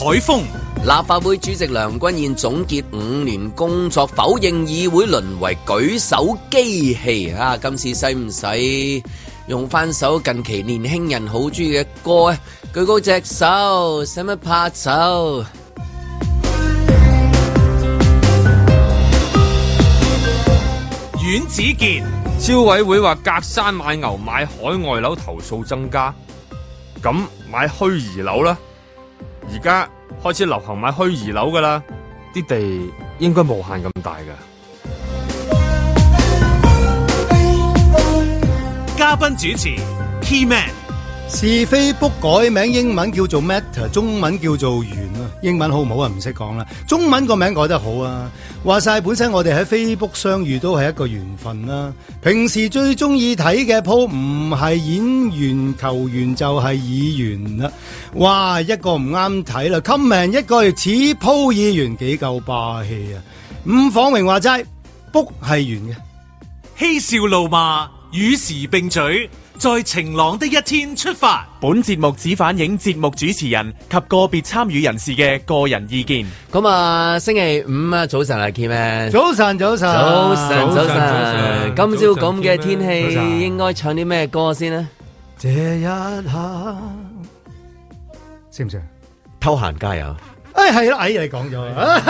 海峰。 立法會主席梁君彥總結5年工作，否認議會淪為舉手機器啊！今次使唔使用翻首近期年輕人好中意嘅歌啊？舉高隻手，使乜拍手？ 阮子健， 消委會話隔山買牛買海外樓投訴增加，咁買虛擬樓啦，而家開始流行買虛擬樓噶啦，啲地應該無限咁大噶。 嘉賓主持 Key Man， 是非 book 改名，英文叫做 Meta， 中文叫做緣啊。英文好唔好啊？唔識講啦。中文個名改得好啊。話晒本身我哋喺 Facebook 相遇都係一個緣分啦。平時最中意睇嘅鋪唔係演員球員就係議員啦。哇，一個唔啱睇啦 comment 一個似鋪議員幾夠霸氣啊。伍晃榮話齋 book 係緣嘅， 嬉笑怒罵與時並舉，在晴朗的一天出發。 本節目只反映節目主持人及個別參與人士嘅個人意見。 咁啊，星期五啊，早晨啊 Kim Man， 早晨。今朝咁嘅天氣，應該唱啲咩歌先呢？ 這一刻，識唔識？ 偷閒加油。 係啦，你講咗。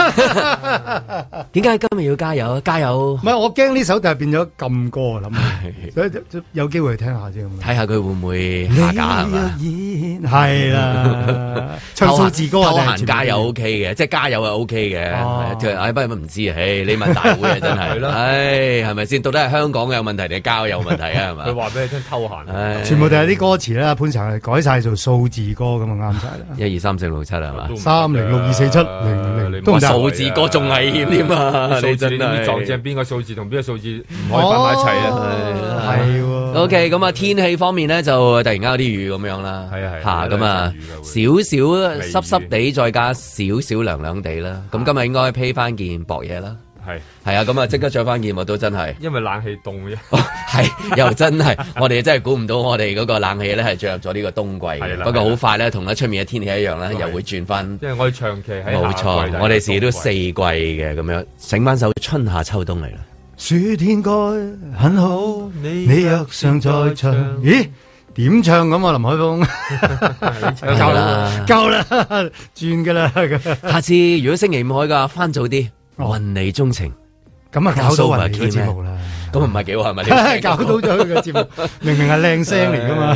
點解今日要加油？加油！ 唔係我驚呢首就係變咗禁歌啊，諗所以有機會去聽下啫。 睇下佢會唔會下架係嘛？ 係啦，唱數字歌偷閒加油 OK 嘅，即係加油係 OK 嘅。不過唔知啊，你問大會啊真係。係咪先？到底係香港有問題定係交友問題啊？係嘛？ 佢話俾你聽偷閒， 全部都係啲歌詞啦。潘查改晒做數字歌咁啊，啱晒啦。 1 2 3 4 5 6 7係嘛 ？3062470， 都唔數字歌仲危險添啊！ 你真係撞正邊個數字同邊個數字唔可以擺埋一齊啊！ 係 OK， 咁啊天氣方面咧就突然間有啲雨咁樣啦，嚇咁啊少少濕濕地，再加少少涼涼地啦。咁今日應該披翻件薄嘢啦。係啊，咁啊即刻着翻件我都真係， 因為冷氣凍啫。 係又真係，我哋真係估唔到我哋嗰個冷氣咧係進入咗呢個冬季嘅。不過好快咧，同出面嘅天氣一樣咧，又會轉翻。 因為我哋長期喺冇錯，我哋時都四季嘅咁樣，整翻首春夏秋冬嚟啦。 暑天該很好，你若尚在場。咦？點唱咁啊？林海峰，夠啦，轉噶啦。 下次如果星期五開噶，翻早啲。雲你鍾情， 咁啊搞到雲你嘅節目啦， 咁唔係幾好係咪？ 搞到咗佢嘅節目，明明係靚聲嚟噶嘛。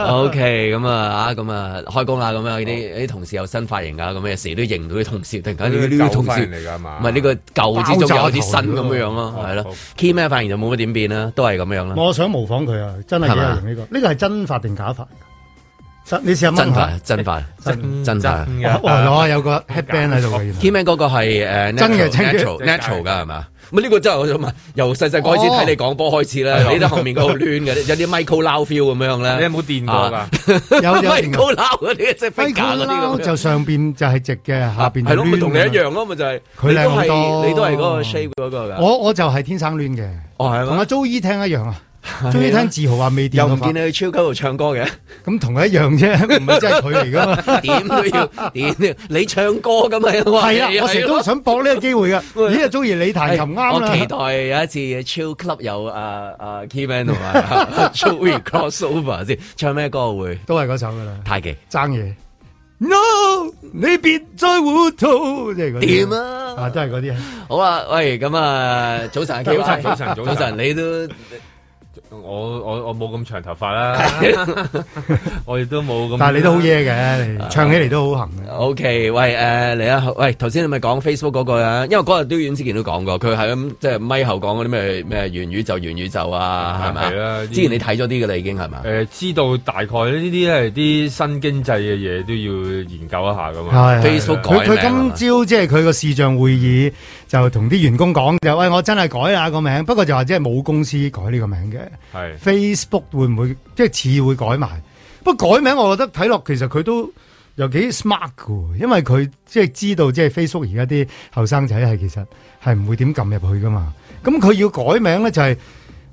OK， 咁啊開工啦，咁樣啲同事有新髮型啊，咁有時都認唔到啲同事，突然間呢啲同事嚟噶嘛？唔係呢個舊之中有啲新咁樣咯，係咯。Key 咩髮型就冇乜點變啦，都係咁樣啦。我想模仿佢啊，真係幾有型呢個。呢個係真髮定假髮？你試下問下真髮， 有個 headband 喺度嘅。 Keyman 嗰個係真嘅 natural 噶係嘛？咁呢個真係我想問，由細細個開始睇你講波開始咧，你都後面嗰度攣嘅，有啲 Michael Lau feel 咁樣咧。 你有冇電過㗎？ 有 Michael Lau 嗰啲即係 figure 嗰啲咁。 就上邊就係直嘅，下邊係咯，咪同你一樣咯，咪就係。佢靚好多，你都係嗰個 shape 嗰個㗎。 我就係天生攣嘅。哦，係同阿 Joey 聽一樣啊。終於聽自豪話未電， 又唔見你去超級度唱歌嘅， 咁同佢一樣啫，唔係真係佢嚟噶嘛？ 點都要，你唱歌咁嘛？ 係啊，我成日都想搏呢個機會噶。咦，啊，中意你彈琴啱啦。 我期待有一次超 club 有Keyman 同埋 Joey crossover 先，唱咩歌會？ 都係嗰首噶啦。 太極爭嘢 ，No， 你別再糊塗，即係嗰啲。掂啊！都係嗰啲。 好啊，喂，咁啊，早晨，早晨，你都。 我冇咁長頭髮啦，我亦都冇咁。 但係你都好嘢嘅，唱起嚟都好行嘅。 OK， 喂，嚟啊！喂，頭先你咪講 Facebook 嗰個啊，因為嗰日都阮之健都講過，佢係咁即係咪後講嗰啲咩元宇宙啊，係咪？係啦。之前你睇咗啲嘅啦，已經係嘛？ 知道大概呢啲係啲新經濟嘅嘢都要研究一下噶嘛。 Facebook 改名。 佢今朝即係佢個視像會議就同啲員工講就喂，我真係改啦個名，不過就話即係冇公司改呢個名嘅。係 Facebook 會唔會即係似會改埋？不過改名我覺得睇落其實佢都又幾 smart 㗎，因為佢即係知道即係 Facebook 而家啲後生仔係其實係唔會點撳入去噶嘛。咁佢要改名咧就係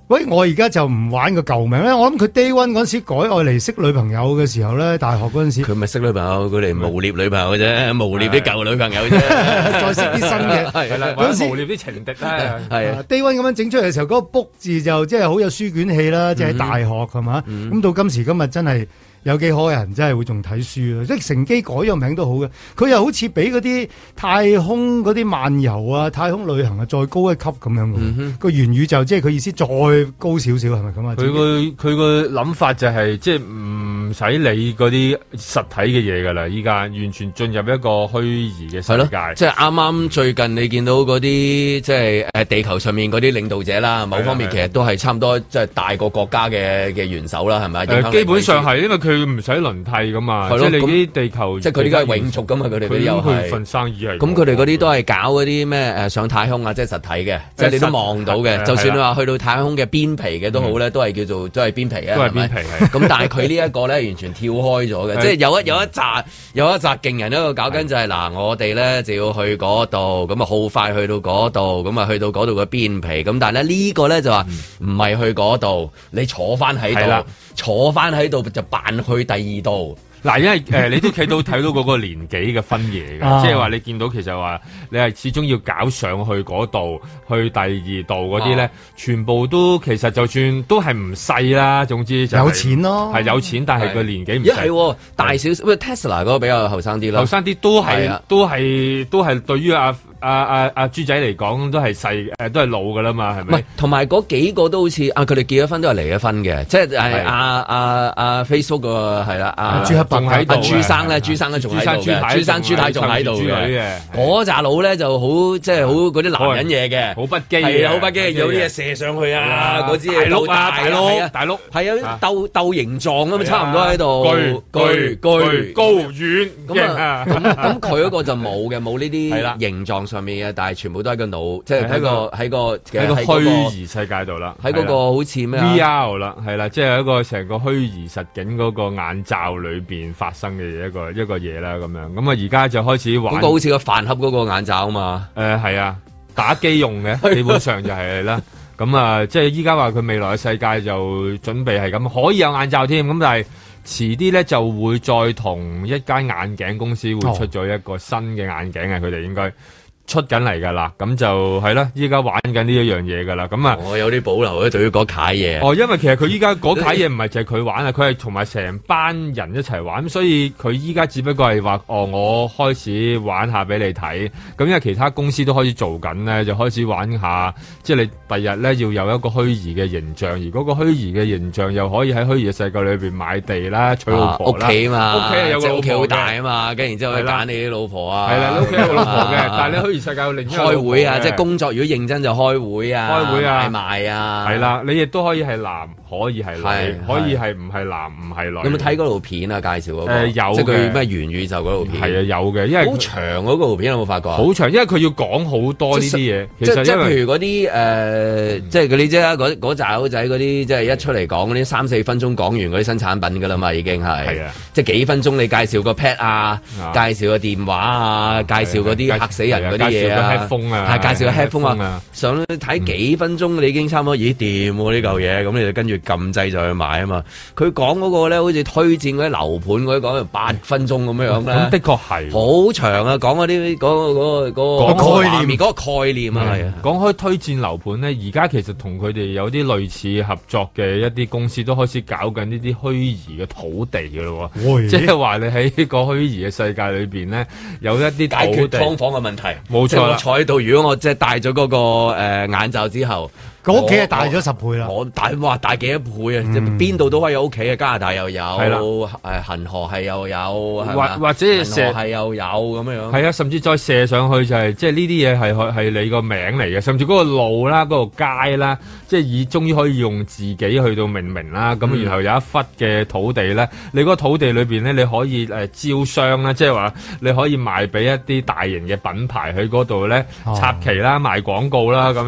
喂，我而家就唔玩個舊名咧，我諗佢 Day One 嗰時改愛嚟識女朋友嘅時候咧，大學嗰陣時， 佢咪識女朋友，佢嚟誣衊女朋友啫，誣衊啲舊女朋友啫， 再識啲新嘅， 係啦，嗰時誣衊啲情敵啦，係 Day One 咁樣整出嚟嘅時候，嗰個 book 字就即係好有書卷氣啦，即係喺大學係嘛，咁到今時今日真係。有幾可人真係會仲睇書啊！即係乘機改咗名都好嘅，佢又好似比嗰啲太空嗰啲漫遊啊、太空旅行啊再高一級咁樣嘅。個元宇宙即係佢意思再高少少係咪咁啊？ 佢個諗法就係即係唔使理嗰啲實體嘅嘢㗎啦，依家完全進入一個虛擬嘅世界。 即係啱啱最近你見到嗰啲即係地球上面嗰啲領導者啦，某方面其實都係差唔多即係大個國家嘅元首啦，係咪？ 基本上係因為佢唔使輪替噶嘛，即係你啲地球， 即係佢哋都係永續噶嘛，佢哋嗰啲又係份生意係。 咁佢哋嗰啲都係搞嗰啲咩上太空啊，即係實體嘅，即係你都望到嘅。就算你話去到太空嘅邊皮嘅都好咧，都係叫做都係邊皮啊， 都係邊皮係。 咁但係佢呢一個咧完全跳開咗嘅，即係有一紮勁人喺度搞緊就係嗱，我哋咧就要去嗰度，咁啊好快去到嗰度，咁啊去到嗰度嘅邊皮，咁但係咧呢個咧就話唔係去嗰度，你坐翻喺度，坐翻喺度就扮去第二度。 嗱，因為你都睇到嗰個年紀嘅分野嘅，即係話你見到其實話你係始終要搞上去嗰度，去第二度嗰啲咧，全部都其實就算都係唔細啦，總之就係、 有錢咯， 係有錢，但係個年紀唔細。 係大少少，喂 Tesla 嗰個比較後生啲啦， 後生啲都係對於阿豬仔嚟講都係細都係老噶啦嘛，係咪？唔係， 同埋嗰幾個都好似佢哋結咗婚都係離咗婚嘅，即係阿 Facebook 個係啦， 朱克伯喺度， 朱生咧仲喺度嘅，朱太仲喺度嘅，嗰扎佬咧就好即係好嗰啲男人嘢嘅， 好不羈， 係好不羈，有啲嘢射上去啊，嗰支嘢鬥大碌，係啊，鬥形狀啊嘛，差唔多喺度，巨高遠咁佢嗰個就冇嘅，冇呢啲形狀上面嘅，但係全部都喺個腦，即係喺個虛擬世界度啦， 喺嗰個好似咩 VR 啦，係啦，即係一個成個虛擬實境嗰個眼罩裏邊發生嘅嘢一個嘢啦，咁樣咁啊，而家就開始玩， 嗰個好似個飯盒嗰個眼罩啊嘛， 係啊，打機用嘅，基本上就係啦，咁啊，即係依家話佢未來嘅世界就準備係咁，可以有眼罩添，咁但係遲啲咧就會再同一間眼鏡公司會出咗一個新嘅眼鏡啊，佢哋應該出緊嚟噶啦，咁就係啦，依家玩緊呢一樣嘢噶啦，咁啊， 我有啲保留咧，對於嗰楷嘢。 因為其實佢依家嗰楷嘢唔係淨係佢玩啊，佢係同埋成班人一齊玩，所以佢依家只不過係話，我開始玩下俾你睇，咁因為其他公司都開始做緊咧，就開始玩下，即係你第日咧要有一個虛擬嘅形象，而嗰個虛擬嘅形象又可以喺虛擬嘅世界裏邊買地啦、娶老婆啦， 屋企啊嘛， 屋企有個屋企好大啊嘛，跟然之後可以揀你啲老婆啊， 係啦，你屋企有個老婆嘅，但係你虛擬世界有另一個開會啊，即係工作如果認真就開會啊，買賣啊， 係啦，你亦都可以係男，可以係女，可以係唔係男唔係女。 有冇睇嗰套片啊？介紹嗰個有即係佢咩元宇宙嗰套片。 係啊，有嘅，因為好長嗰個圖片有冇發覺？ 好長，因為佢要講好多呢啲嘢。其實即係譬如嗰啲即係嗰啲啫，嗰扎佬仔嗰啲，即係一出嚟講嗰啲3-4分鐘講完嗰啲新產品㗎啦嘛，已經係。係啊，即係幾分鐘你介紹個 pad 啊，介紹個電話啊，介紹嗰啲嚇死人嗰啲嘢啊，係介紹個 headphone 啊，上睇幾分鐘你已經差唔多，咦掂喎呢嚿嘢，咁你就跟住撳掣就去買啊嘛。佢講嗰個咧，好似推薦嗰啲樓盤嗰啲講8分鐘咁樣樣咧。 咁的確係好長啊，講嗰啲嗰個概念，嗰個概念啊係啊。講開推薦樓盤咧，而家其實同佢哋有啲類似合作嘅一啲公司都開始搞緊呢啲虛擬嘅土地㗎咯喎，即係話你喺個虛擬嘅世界裏邊咧，有一啲解決劏房嘅問題。 冇錯啦， 我坐喺度，如果我即係戴咗嗰個眼罩之後。 個屋企係大咗10倍啦！ 我大幾多倍啊？邊度都可以有屋企啊！加拿大又有，恒河係又有， 或者射係又有咁樣。 係啊，甚至再射上去就係即係呢啲嘢係你個名嚟嘅，甚至嗰個路啦、嗰個街啦，即係終於可以用自己去到命名啦。咁然後有一忽嘅土地咧，你嗰個土地裏邊咧，你可以招商啦，即係話你可以賣俾一啲大型嘅品牌喺嗰度咧插旗啦、賣廣告啦咁樣。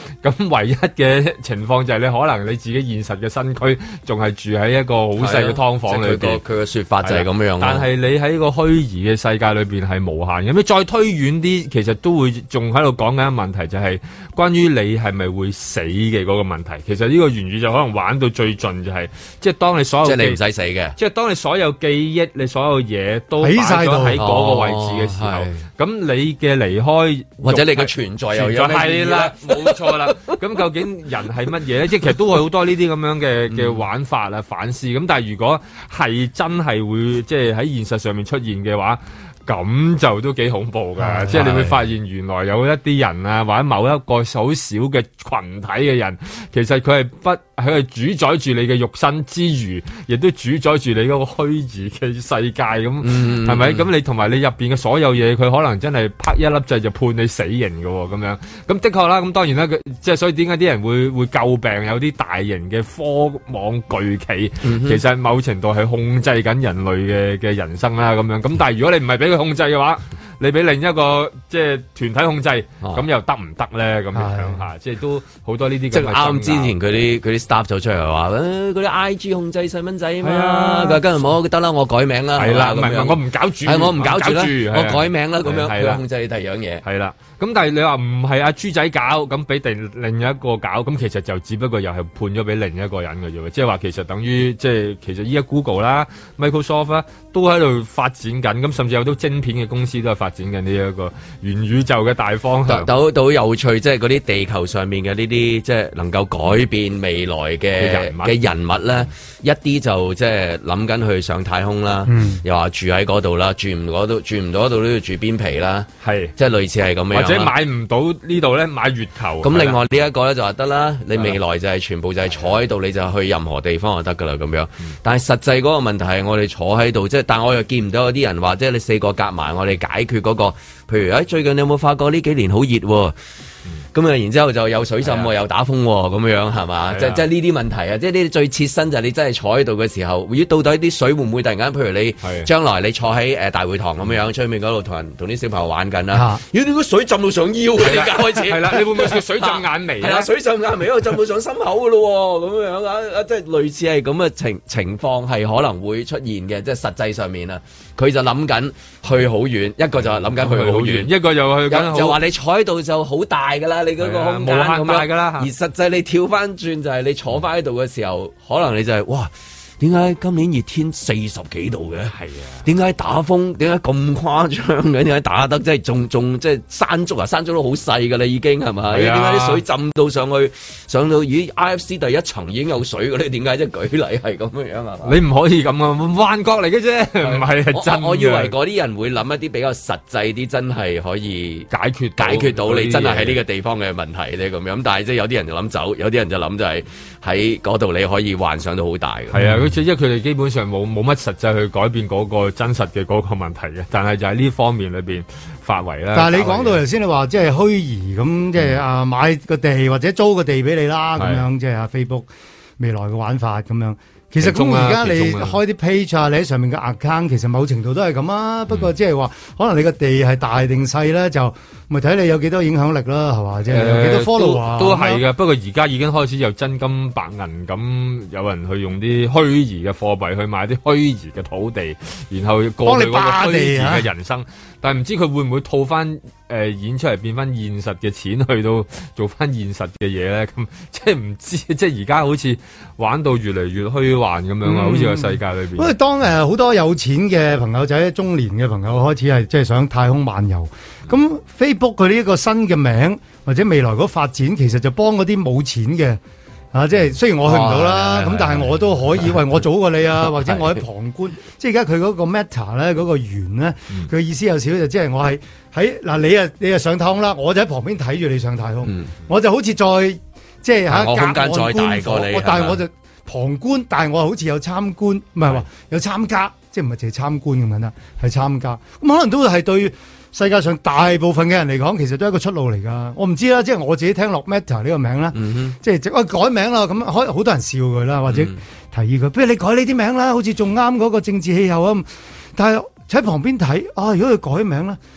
咁唯一嘅情況就係你可能你自己現實嘅身軀仲係住喺一個好細嘅劏房裏邊。 佢嘅說法就係咁樣。 但係你喺個虛擬嘅世界裏邊係無限嘅。咁你再推遠啲，其實都會仲喺度講緊一個問題，就係關於你係咪會死嘅嗰個問題。其實呢個元宇宙可能玩到最盡就係，即係當你所有即係你唔使死嘅， 即係當你所有記憶、你所有嘢都擺咗喺嗰個位置嘅時候，咁你嘅離開或者你嘅存在又有咩意義咧？ 係啦，冇錯啦。咁究竟人係乜嘢咧？即係其實都會好多呢啲咁樣嘅玩法啊、反思。咁但係如果係真係會即係喺現實上面出現嘅話，咁就都幾恐怖㗎，即係你會發現原來有一啲人啊，或者某一個好少嘅群體嘅人，其實佢係主宰住你嘅肉身之餘，亦都主宰住你嗰個虛擬嘅世界咁，係咪？咁你同埋你入邊嘅所有嘢，佢可能真係啪一粒掣就判你死刑㗎喎，咁樣。咁的確啦，咁當然啦，即係所以點解啲人會詬病有啲大型嘅科網巨企，其實某程度係控制緊人類嘅人生啦，咁樣。咁但係如果你唔係俾佢控制嘅話，你俾另一個即係團體控制，咁又得唔得咧？咁樣嚇，即係都好多呢啲。即係啱之前佢啲 staff 走出嚟話，嗰啲 IG 控制細蚊仔啊嘛，佢跟住冇得啦，我改名啦。 係啦，唔係我唔搞住， 我唔搞住啦，我改名啦，咁樣佢控制你第二樣嘢。 係啦，咁但係你話唔係阿豬仔搞，咁俾另一個搞，咁其實就只不過又係判咗俾另一個人嘅啫喎，即係話其實等於即係其實依家 Google 啦、Microsoft 啦都喺度發展緊，咁甚至有啲晶片嘅公司都係發展緊呢一個元宇宙嘅大方向。 都有趣，即係嗰啲地球上面嘅呢啲即係能夠改變未來嘅人物咧，一啲就即係諗緊去上太空啦，又話住喺嗰度啦，住唔到嗰度都要住邊皮啦，係即係類似係咁樣。或者買唔到呢度咧，買月球。 咁另外呢一個咧就話得啦，你未來就係全部就係坐喺度，你就去任何地方就得噶啦咁樣。但係實際嗰個問題係我哋坐喺度，即係但係我又見唔到有啲人話，即係你四個夾埋，我哋解決嗰個，譬如最近你有冇發覺呢幾年好熱喎？咁啊，然之後就有水浸喎，又打風喎，咁樣係嘛？即係呢啲問題啊！即係呢啲最切身就係你真係坐喺度嘅時候，到底啲水會唔會突然間？譬如你將來你坐喺大會堂咁樣，出面嗰度同啲小朋友玩緊啦。如果啲水浸到上腰嘅，而家開始係啦，你會唔會水浸眼眉？係啦，水浸眼眉，因為浸到上心口嘅咯喎，咁樣啊，即係類似係咁嘅情況係可能會出現嘅，即係實際上面啊，佢就諗緊去好遠，一個就係諗緊去好遠， 一個又去緊， 就話你坐喺度就好大㗎啦。你嗰個空間咁樣㗎啦，而實際你跳翻轉就係你坐翻喺度嘅時候，可能你就係哇，點解今年熱天40幾度嘅？係啊，點解打風？點解咁誇張嘅？點解打得即係仲即係山竹啊？山竹都好細㗎啦，已經係咪？點解啲水浸到上到咦 IFC 第一層已經有水嘅咧？點解即係舉例係咁樣係嘛？ 你唔可以咁啊，幻覺嚟嘅啫，唔係真。 我以為嗰啲人會諗一啲比較實際啲，真係可以解決到你真係喺呢個地方嘅問題咧咁樣。但係即係有啲人就諗走，有啲人就諗就係喺嗰度你可以幻想到好大嘅。係啊。因為佢哋基本上冇乜實際去改變嗰個真實嘅嗰個問題嘅，但係就喺呢方面裏邊發圍啦。 但係你講到頭先，你話即係虛擬咁，即係買個地或者租個地俾你啦，咁樣即係Facebook未來嘅玩法咁樣。其實咁而家你開啲 page 啊，你喺上面嘅 account，其實某程度都係咁啊。不過即係話，可能你個地係大定細咧，就咪睇你有幾多影響力啦，係嘛？即係有幾多 follow 都係嘅。不過而家已經開始有真金白銀咁，有人去用啲虛擬嘅貨幣去買啲虛擬嘅土地，然後過去嗰個虛擬嘅人生。但係唔知佢會唔會套翻演出嚟變翻現實嘅錢去到做翻現實嘅嘢咧？咁即係唔知，即係而家好似玩到越嚟越虛幻咁樣啊！好似個世界裏邊。因為當好多有錢嘅朋友仔、中年嘅朋友開始係即係想太空漫遊，咁 Facebook 佢呢一個新嘅名或者未來嗰發展，其實就幫嗰啲冇錢嘅。即係雖然我去唔到啦，咁但係我都可以，喂，我早過你啊，或者我喺旁觀。即係而家佢嗰個 Meta 咧，嗰個圓咧，佢意思有少少就即係我係喺嗱，你上太空啦，我就喺旁邊睇住你上太空，我就好似再即係我空間再大過你， 但係我就旁觀，但係我好似有參觀，唔係話有參加，即係唔係淨係參觀咁樣啦，係參加。咁可能都係對世界上大部分嘅人嚟講，其實都係一個出路嚟㗎。我唔知啦，即係我自己聽落 Meta 呢個名啦，即係改名啦，咁好多人笑佢啦，或者提議佢，不如你改呢啲名啦，好似仲啱嗰個政治氣候啊。但係喺旁邊睇啊，如果佢改名啦，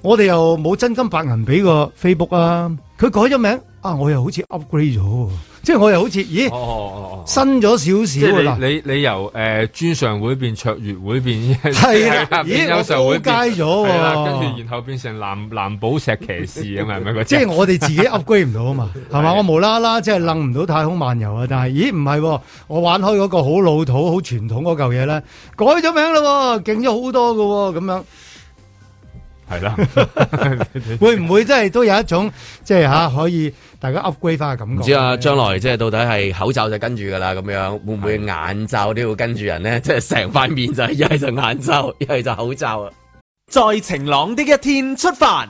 我哋又冇真金白銀俾個 Facebook 啊，佢改咗名啊，我又好似 upgrade 咗，即係我又好似咦，新咗少少啦。 你由專上會變卓越會變係啦，咦， 優秀會我高階咗， 跟住然後變成藍寶石騎士啊嘛，係咪？ 即係我哋自己 upgrade 唔到啊嘛，係嘛？我無啦啦即係楞唔到太空漫遊啊，但係咦唔係，我玩開嗰個好老土、好傳統嗰嚿嘢咧，改咗名啦，勁咗好多噶，咁樣。 係啦， 會唔會真係都有一種即係可以大家 upgrade 翻嘅感覺？ 唔知啊，將來即係到底係口罩就跟住噶啦，咁樣會唔會眼罩都要跟住人咧？即係成塊面就一係就眼罩，一係就口罩啊！ 在晴朗的一天出發，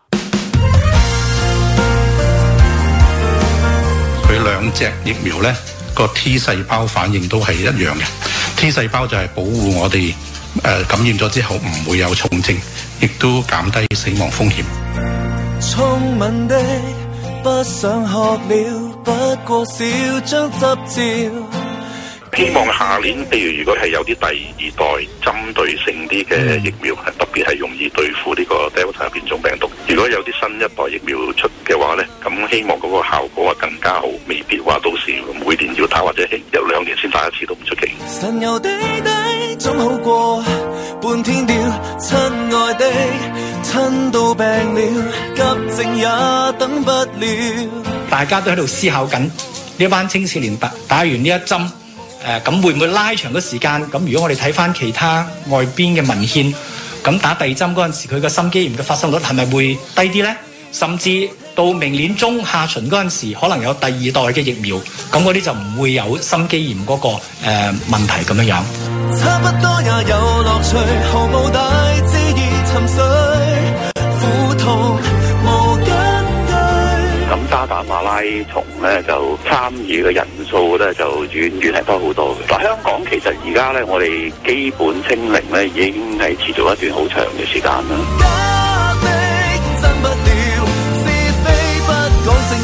佢兩隻疫苗咧個 T 細胞反應都係一樣嘅。T 細胞就係保護我哋感染咗之後唔會有重症，亦都減低死亡風險。 聰明的不想學了，不過少張執照。 希望下年，譬如如果係有啲第二代針對性啲嘅疫苗，係特別係容易對付呢個 Delta 變種病毒。如果有啲新一代疫苗出嘅話咧，咁希望嗰個效果更加好，未必話到時每年要打或者有2年先打一次都唔出奇。 神遊地底總好過半天吊，親愛的親到病了，急症也等不了。 大家都喺度思考緊呢班青少年打完呢一針。咁會唔會拉長個時間？咁如果我哋睇翻其他外邊嘅文獻，咁打第二針嗰陣時，佢個心肌炎嘅發生率係咪會低啲呢？甚至到明年中下旬嗰陣時，可能有第二代嘅疫苗，咁嗰啲就唔會有心肌炎嗰個問題咁樣樣。 差不多也有樂趣，毫無大志意沉睡，苦痛無根據。 咁渣打馬拉松咧就參與嘅人數咧就遠遠係多好多嘅。嗱，香港其實而家咧我哋基本清零咧已經係持續一段好長嘅時間啦。 假的真不了，是非不講證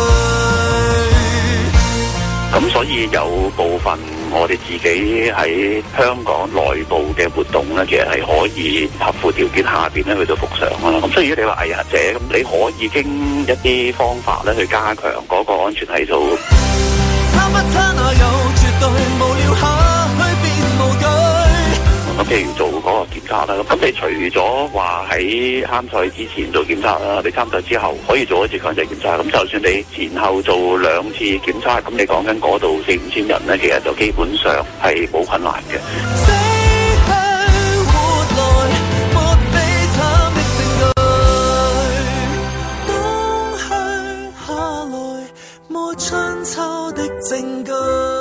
據。 咁所以有部分我哋自己喺香港內部嘅活動咧，其實係可以合乎條件下邊咧去到復常啦。咁所以如果你話藝人者咁，你可以經一啲方法咧去加強嗰個安全係數。 差不差那有絕對無聊下去變無懼。 咁譬如做嗰個檢測啦，咁你除咗話喺參賽之前做檢測啦，你參賽之後可以做一次強制檢測。咁就算你前後做2次檢測，咁你講緊嗰度4-5千人咧，其實就基本上係冇困難嘅。 春秋的證據。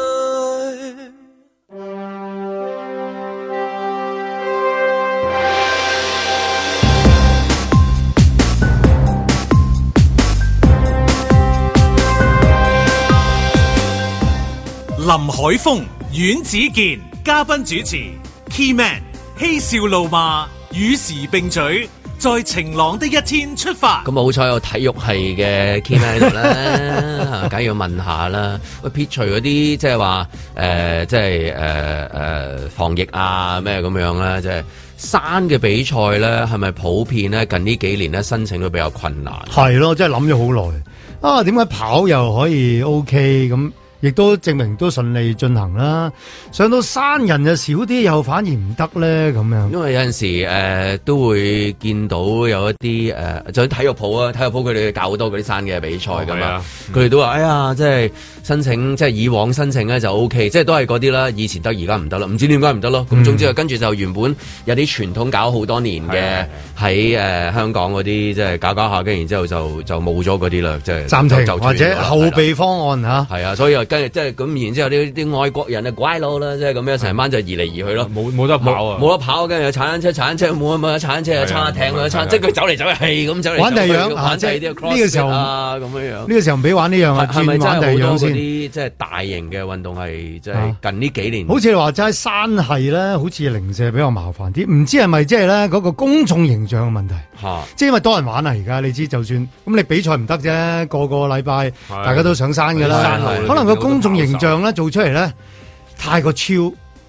林海峰、阮子健嘉賓主持 ，Key Man 嬉笑怒罵，與時並舉。在晴朗的一天出發。 咁好彩有體育系嘅 key man 喺度啦，梗係要問下啦。喂，撇除嗰啲即係話即係防疫啊咩咁樣咧，即係山嘅比賽咧，係咪普遍咧近呢幾年咧申請都比較困難？ 係咯，真係諗咗好耐啊！點解跑又可以 OK 咁？亦都證明都順利進行啦。上到山人就少啲，又反而唔得咧咁樣。 因為有陣時都會見到有一啲就喺體育鋪啊，體育鋪佢哋搞好多嗰啲山嘅比賽㗎嘛。佢哋都話：哎呀，即係申請，即係以往申請咧就 OK，即係都係嗰啲啦。以前得，而家唔得啦，唔知點解唔得咯。咁總之跟住就原本有啲傳統搞好多年嘅喺香港嗰啲，即係搞下，跟然之後就冇咗嗰啲啦，即係暫停或者後備方案嚇。 係啊，所以跟住即係咁，然之後啲外國人啊乖佬啦，即係咁樣成班就移嚟移去咯， 冇得跑啊， 冇得跑，跟住有踩單車冇踩單車啊，撐艇啊，即係佢走嚟走去係咁走嚟玩第二樣啊，即係呢個時候啊咁樣。 呢個時候唔俾玩呢樣啊， 係咪真係好多嗰啲即係大型嘅運動係即係近呢幾年？ 好似你話齋山係咧，好似零舍比較麻煩啲，唔知係咪即係咧嗰個公眾形象嘅問題？即係因為多人玩啊，而家你知就算咁你比賽唔得啫，個禮拜大家都上山㗎啦，可能個公眾形象咧做出嚟咧太過超，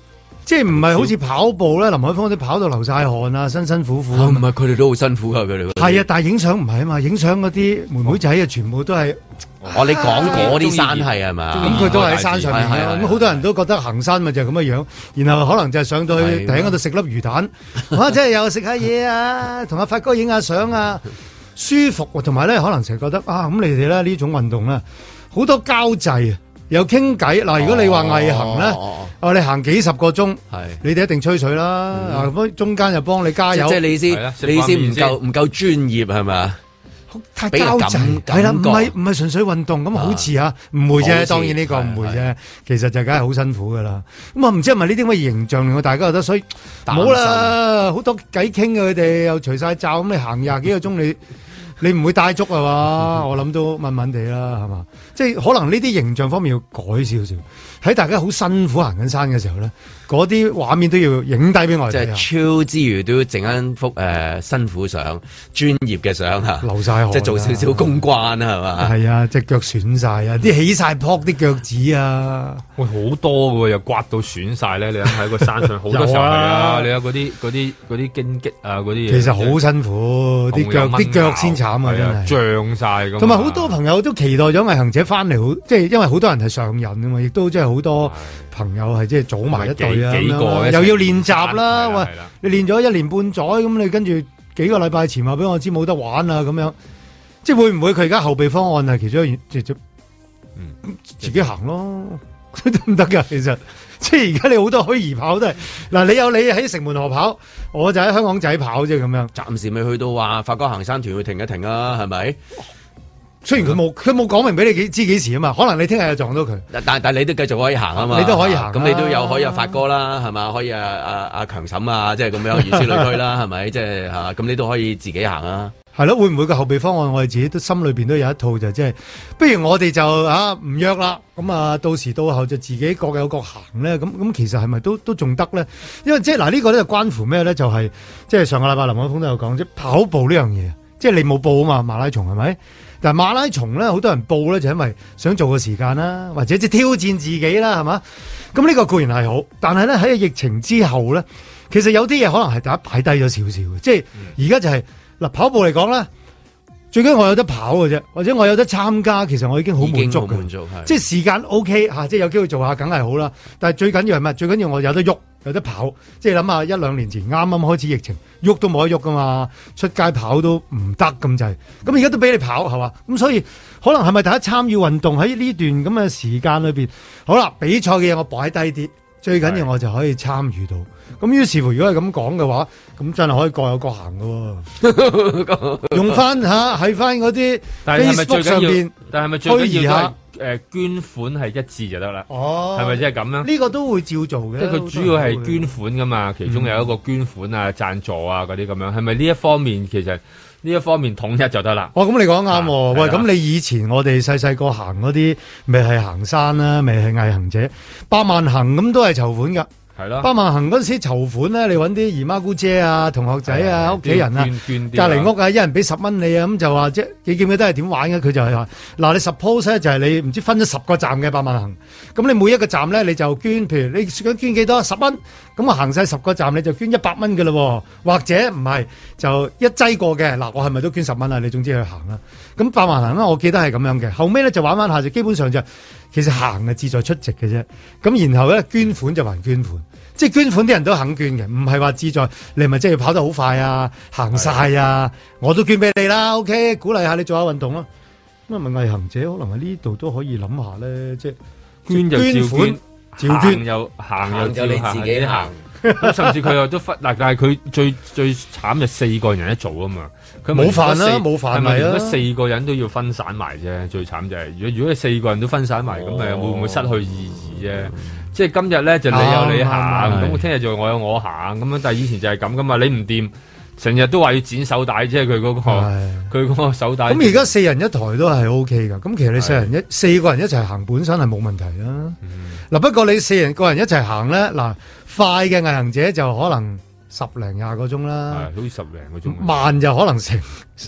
即係唔係好似跑步咧，林海峰啲跑到流晒汗啊，辛辛苦苦。 唔係佢哋都好辛苦啊，佢哋。 係啊，但係影相唔係啊嘛，影相嗰啲妹妹仔啊，全部都係。 你講嗰啲山係嘛？ 咁佢都喺山上面嘅，咁好多人都覺得行山咪就係咁嘅樣，然後可能就係上到去頂嗰度食粒魚蛋，或者係又食下嘢啊，同阿發哥影下相啊，舒服，同埋咧可能成日覺得啊，咁你哋咧呢種運動咧好多交際啊，又傾偈嗱。如果你話毅行咧，你行幾十個鐘，你哋一定吹水啦。咁中間又幫你加油， 即係你先唔夠專業係咪？ 太交際係啦，唔係純粹運動咁好似啊，唔會啫，當然呢個唔會啫，其實就梗係好辛苦噶啦。咁啊，唔知係咪呢啲咁嘅形象令到大家覺得，所以冇啦，好多偈傾嘅佢哋又除晒罩，咁你行廿幾個鐘，你唔會帶足啊嘛？我諗都問問地啦，係嘛？即係可能呢啲形象方面要改少少，喺大家好辛苦行緊山嘅時候咧，嗰啲畫面都要影低俾我哋。 即係超之餘都要整一幅辛苦相、專業嘅相嚇， 流晒汗， 即係做少少公關係嘛？ 係啊，隻腳損晒啊，啲起晒泡啲腳趾啊， 喂好多嘅喎，又刮到損晒咧。你喺個山上好多時候係啊，你有嗰啲荊棘啊嗰啲嘢， 其實好辛苦，啲腳先慘啊，真係脹晒咁。同埋好多朋友都期待咗毅行者翻嚟，好即係因為好多人係上癮㗎嘛，亦都即係好多朋友係即係組埋一隊啊，又要練習啦。喂，你練咗1年半載，咁你跟住幾個禮拜前話俾我知冇得玩啊，咁樣即係會唔會佢而家後備方案係其中一即自己行咯，得唔得噶？其實即係而家你好多虛擬跑都係嗱，你喺城門河跑，我就喺香港仔跑啫，咁樣暫時未去到話發哥行山團會停一停啊，係咪？ 雖然佢冇講明俾你知幾時啊嘛，可能你聽日又撞到佢， 但你都繼續可以行啊嘛， 你都可以行， 咁你都有可以有發哥啦，係嘛？可以阿強嬸啊，即係咁樣如此類推啦，係咪？即係嚇，咁你都可以自己行啊。 係咯，會唔會個後備方案我哋自己都心裏邊都有一套就即係，不如我哋就唔約啦，咁到時到後就自己各有各行咧，咁其實係咪都仲得咧？因為即係嗱呢個咧就關乎咩咧？就係即係上個禮拜林海峰都有講，即係跑步呢樣嘢，即係你冇報啊嘛，馬拉松係咪？但係馬拉松咧，好多人報咧就因為想做個時間啦，或者即係挑戰自己啦，係嘛？咁呢個固然係好，但係咧喺疫情之後咧，其實有啲嘢可能係大家擺低咗少少嘅，即係而家就係嗱跑步嚟講咧，最緊要我有得跑嘅啫，或者我有得參加，其實我已經好滿足嘅，即係時間 OK 嚇，即係有機會做下梗係好啦。但係最緊要係乜？最緊要我有得喐。有得跑，即係諗下1-2年前啱啱開始疫情，喐都冇得喐噶嘛，出街跑都唔得咁滯。咁而家都俾你跑係嘛？咁所以可能係咪大家參與運動喺呢段咁嘅時間裏邊？好啦，比賽嘅嘢我擺低啲，最緊要我就可以參與到。咁於是乎，如果係咁講嘅話，咁真係可以各有各行噶喎。用翻喺翻嗰啲 Facebook 上邊， 但係咪最緊要捐款係一致就得啦？哦，係咪即係咁樣？ 呢個都會照做嘅。 即係佢主要係捐款噶嘛，其中有一個捐款啊、贊助啊嗰啲咁樣，係咪呢一方面其實呢一方面統一就得啦？ 哦，咁你講啱喎。喂，咁你以前我哋細細個行嗰啲，咪係行山啦，咪係毅行者，100萬行咁都係籌款噶。 係咯， 100萬行嗰陣時籌款咧，你揾啲姨媽姑姐啊、同學仔啊、屋企人啊、隔離屋啊，一人俾10蚊你啊，咁就話即係你記唔記得係點玩嘅？佢就係話嗱，你 suppose 咧就係你唔知分咗10個站嘅100萬行，咁你每一個站咧你就捐，譬如你想捐幾多10蚊，咁我行晒10個站你就捐100蚊嘅咯，或者唔係就一劑過嘅嗱，我係咪都捐10蚊啊？你總之去行啦。咁100萬行啦，我記得係咁樣嘅。後尾咧就玩下就基本上就其實行係志在出席嘅啫。咁然後咧捐款就還捐款。即係捐款啲人都肯捐嘅，唔係話志在你咪即係要跑得好快啊，行晒啊，我都捐俾你啦 ，OK， 鼓勵下你做下運動咯。咁啊，咪毅行者可能喺呢度都可以諗下咧，即係捐就照捐， 照捐又行又你自己行， 甚至佢又都但係佢最慘就4個人一組啊嘛，佢冇飯啦，冇飯咪啊， 如果4個人都要分散埋啫，最慘就係如果你4個人都分散埋，咁咪會唔會失去意義啫？即係今日咧就你有你行，咁聽日就我有我行咁樣，但係以前就係咁噶嘛，你唔掂，成日都話要剪手帶，即係佢嗰個手帶。咁而家4人一台都係 OK 噶，咁其實你4個人一齊行本身係冇問題啦。嗱，不過你4個人一齊行咧，嗱，快嘅毅行者就可能10零20個鐘啦， 好似10零個鐘， 慢就可能成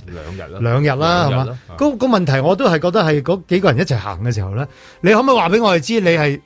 2日啦，係嘛？個問題我都係覺得係嗰幾個人一齊行嘅時候咧，你可唔可以話俾我哋知你係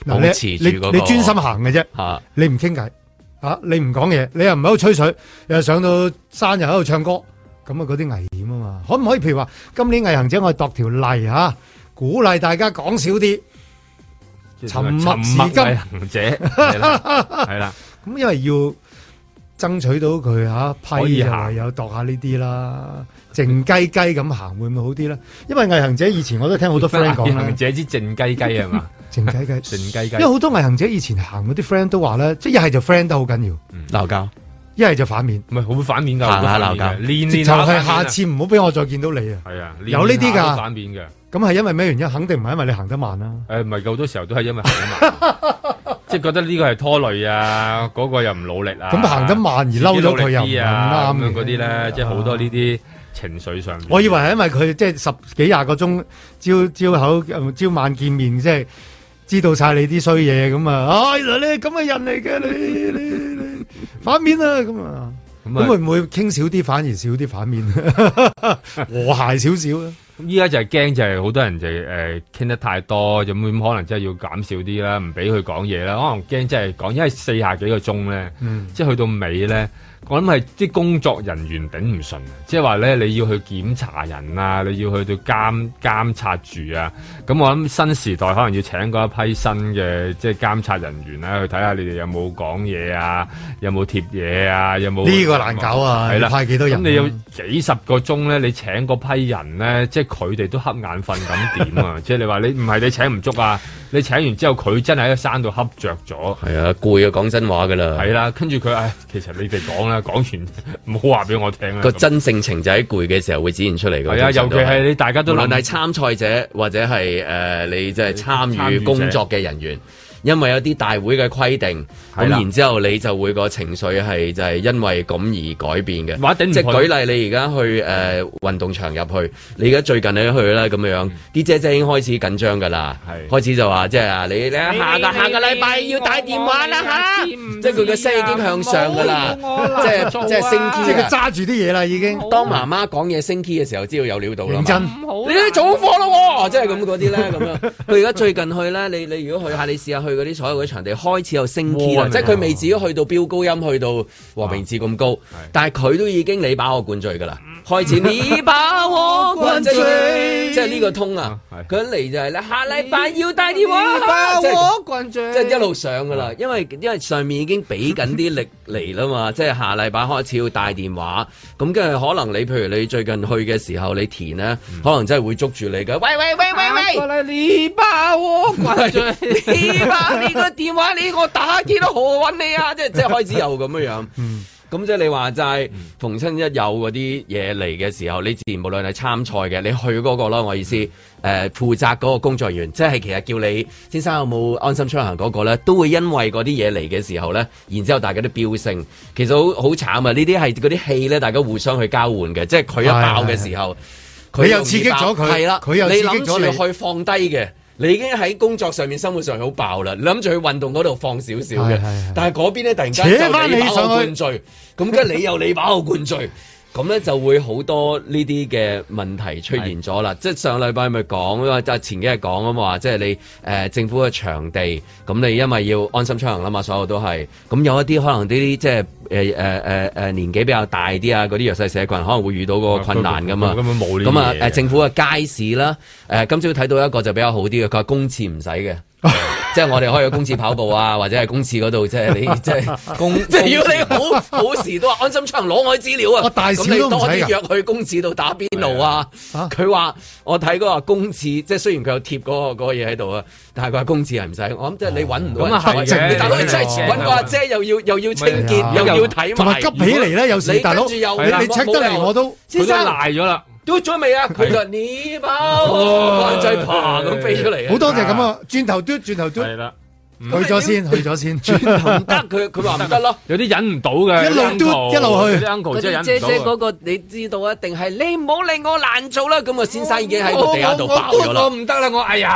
嗱， 保持住嗰個你專心行嘅啫，你唔傾偈你唔講嘢，你又唔喺度吹水，又上到山又喺度唱歌，咁啊嗰啲危險啊嘛。可唔可以譬如話今年毅行者我哋度條例鼓勵大家講少啲，沉默是金毅行者係啦， 咁因為要爭取到佢批就唯有度下呢啲啦，靜雞雞咁行會唔會好啲咧？因為毅行者以前我都聽好多 friend 講，毅行者之靜雞雞係嘛？ 靜雞雞， 靜雞雞。 因為好多毅行者以前行嗰啲 friend 都話咧，即係一係就 friend 得好緊要， 鬧交； 一係就反面， 唔係好反面㗎， 行下鬧交， 直頭係下次唔好俾我再見到你啊！ 係啊， 有呢啲㗎， 反面嘅。 咁係因為咩原因？肯定唔係因為你行得慢啦。 唔係好多時候都係因為行得慢，即係覺得呢個係拖累啊，嗰個又唔努力啊。 咁行得慢而嬲咗佢又唔啱咁嗰啲咧，即係好多呢啲情緒上。 我以為係因為佢即係10幾20個鐘朝晚見面，即係知道晒你啲衰嘢咁啊！原來你係咁嘅人嚟嘅，你反面啊咁啊！咁會唔會傾少啲，反而少啲反面，和諧少少啊？ 咁依家就係驚，就係好多人就傾得太多，咁可能真係要減少啲啦，唔俾佢講嘢啦。可能驚真係講，因為40幾個鐘咧，即係去到尾咧，我諗係啲工作人員頂唔順啊！即係話咧，你要去檢查人啊，你要去到監察住啊。咁我諗新時代可能要請過一批新嘅即係監察人員啦，去睇下你哋有冇講嘢啊，有冇貼嘢啊，有冇呢個難搞啊！係啦，派幾多人？ 咁你有幾十個鐘咧，你請嗰批人咧，即係佢哋都瞌眼瞓咁點啊？即係你話你唔係你請唔足啊？你請完之後佢真係喺個山度瞌着咗， 係啊，攰啊，講真話噶啦， 係啦，跟住佢其實你哋講啦，講完唔好話俾我聽啦。 個真性情就喺攰嘅時候會展現出嚟嘅。 係啊，尤其係你大家都無論係參賽者或者係你即係參與工作嘅人員。因為有啲大會嘅規定，咁然之後你就會個情緒係就係因為咁而改變嘅。即係舉例，你而家去運動場入去，你而家最近你去啦咁樣，啲姐姐已經開始緊張㗎啦，開始就話即係你下個禮拜要打電話啦嚇，即係佢嘅聲已經向上㗎啦，即係升 key， 即係佢揸住啲嘢啦已經。 當媽媽講嘢升 key 嘅時候，知道有料到啦。 認真， 你哋做課咯喎，即係咁嗰啲咧咁樣。佢而家最近去咧，你如果去下，你試下去嗰啲所有嗰啲場地，開始有升 key 啦，即係佢未至於去到飆高音，去到和平治咁高，但係佢都已經你把我灌醉㗎啦。開始你把我灌醉，即係呢個通啊！佢一嚟就係咧，下禮拜要帶電話，把我灌醉，即係一路上㗎啦。因為上面已經俾緊啲力嚟啦嘛，即係下禮拜開始要帶電話，咁跟住可能你譬如你最近去嘅時候，你填咧，可能真係會捉住你嘅。喂，你把我灌醉，你把你個電話你我打幾多號揾你啊！即係開始有咁樣。咁即係你話齋，逢親一有嗰啲嘢嚟嘅時候，你自然無論係參賽嘅，你去嗰個啦，我意思，負責嗰個工作人員，即係其實叫你先生有冇安心出行嗰個咧，都會因為嗰啲嘢嚟嘅時候咧，然之後大家都飆升，其實好慘啊！呢啲係嗰啲氣咧，大家互相去交換嘅，即係佢一爆嘅時候， 佢又刺激咗佢，係啦，佢又刺激咗你去放低嘅。你已經喺工作上面、生活上好爆啦，你諗住去運動嗰度放少少嘅，但係嗰邊咧突然間就你把我灌醉，咁跟住你又你把我灌醉，咁咧就會好多呢啲嘅問題出現咗啦。即係上禮拜咪講，即係前幾日講啊嘛，即係你政府嘅場地，咁你因為要安心出行啦嘛，所有都係，咁有一啲可能呢啲即係年紀比較大啲啊，嗰啲弱勢社群可能會遇到嗰個困難噶嘛。咁啊政府嘅街市啦，今朝睇到一個就比較好啲嘅，佢話公廁唔使嘅。即係我哋可以去公廁跑步啊，或者係公廁嗰度，即係你即係即係要你好時都話安心出行攞我啲資料啊，咁你多啲約去公廁度打邊爐啊。佢話我睇嗰個公廁，即係雖然佢有貼嗰個嘢喺度啊，但係佢話公廁係唔使。我諗即係你揾唔到人嘅，你大佬你真係揾個阿姐又要清潔又要睇埋， 同埋急起嚟咧，有時大佬你 check 得嚟我都先生賴咗啦。 都咗未啊？佢就你包就係爬咁飛出嚟， 好多謝咁啊！轉頭嘟，係啦， 去咗先， 轉頭唔得，佢話唔得咯， 有啲忍唔到嘅， 一路嘟一路去， 啲 uncle 真係忍唔到。 姐姐嗰個你知道一定係你唔好令我難做啦。咁啊，先生已經喺個地下度爆咗啦。 我唔得啦，我哎呀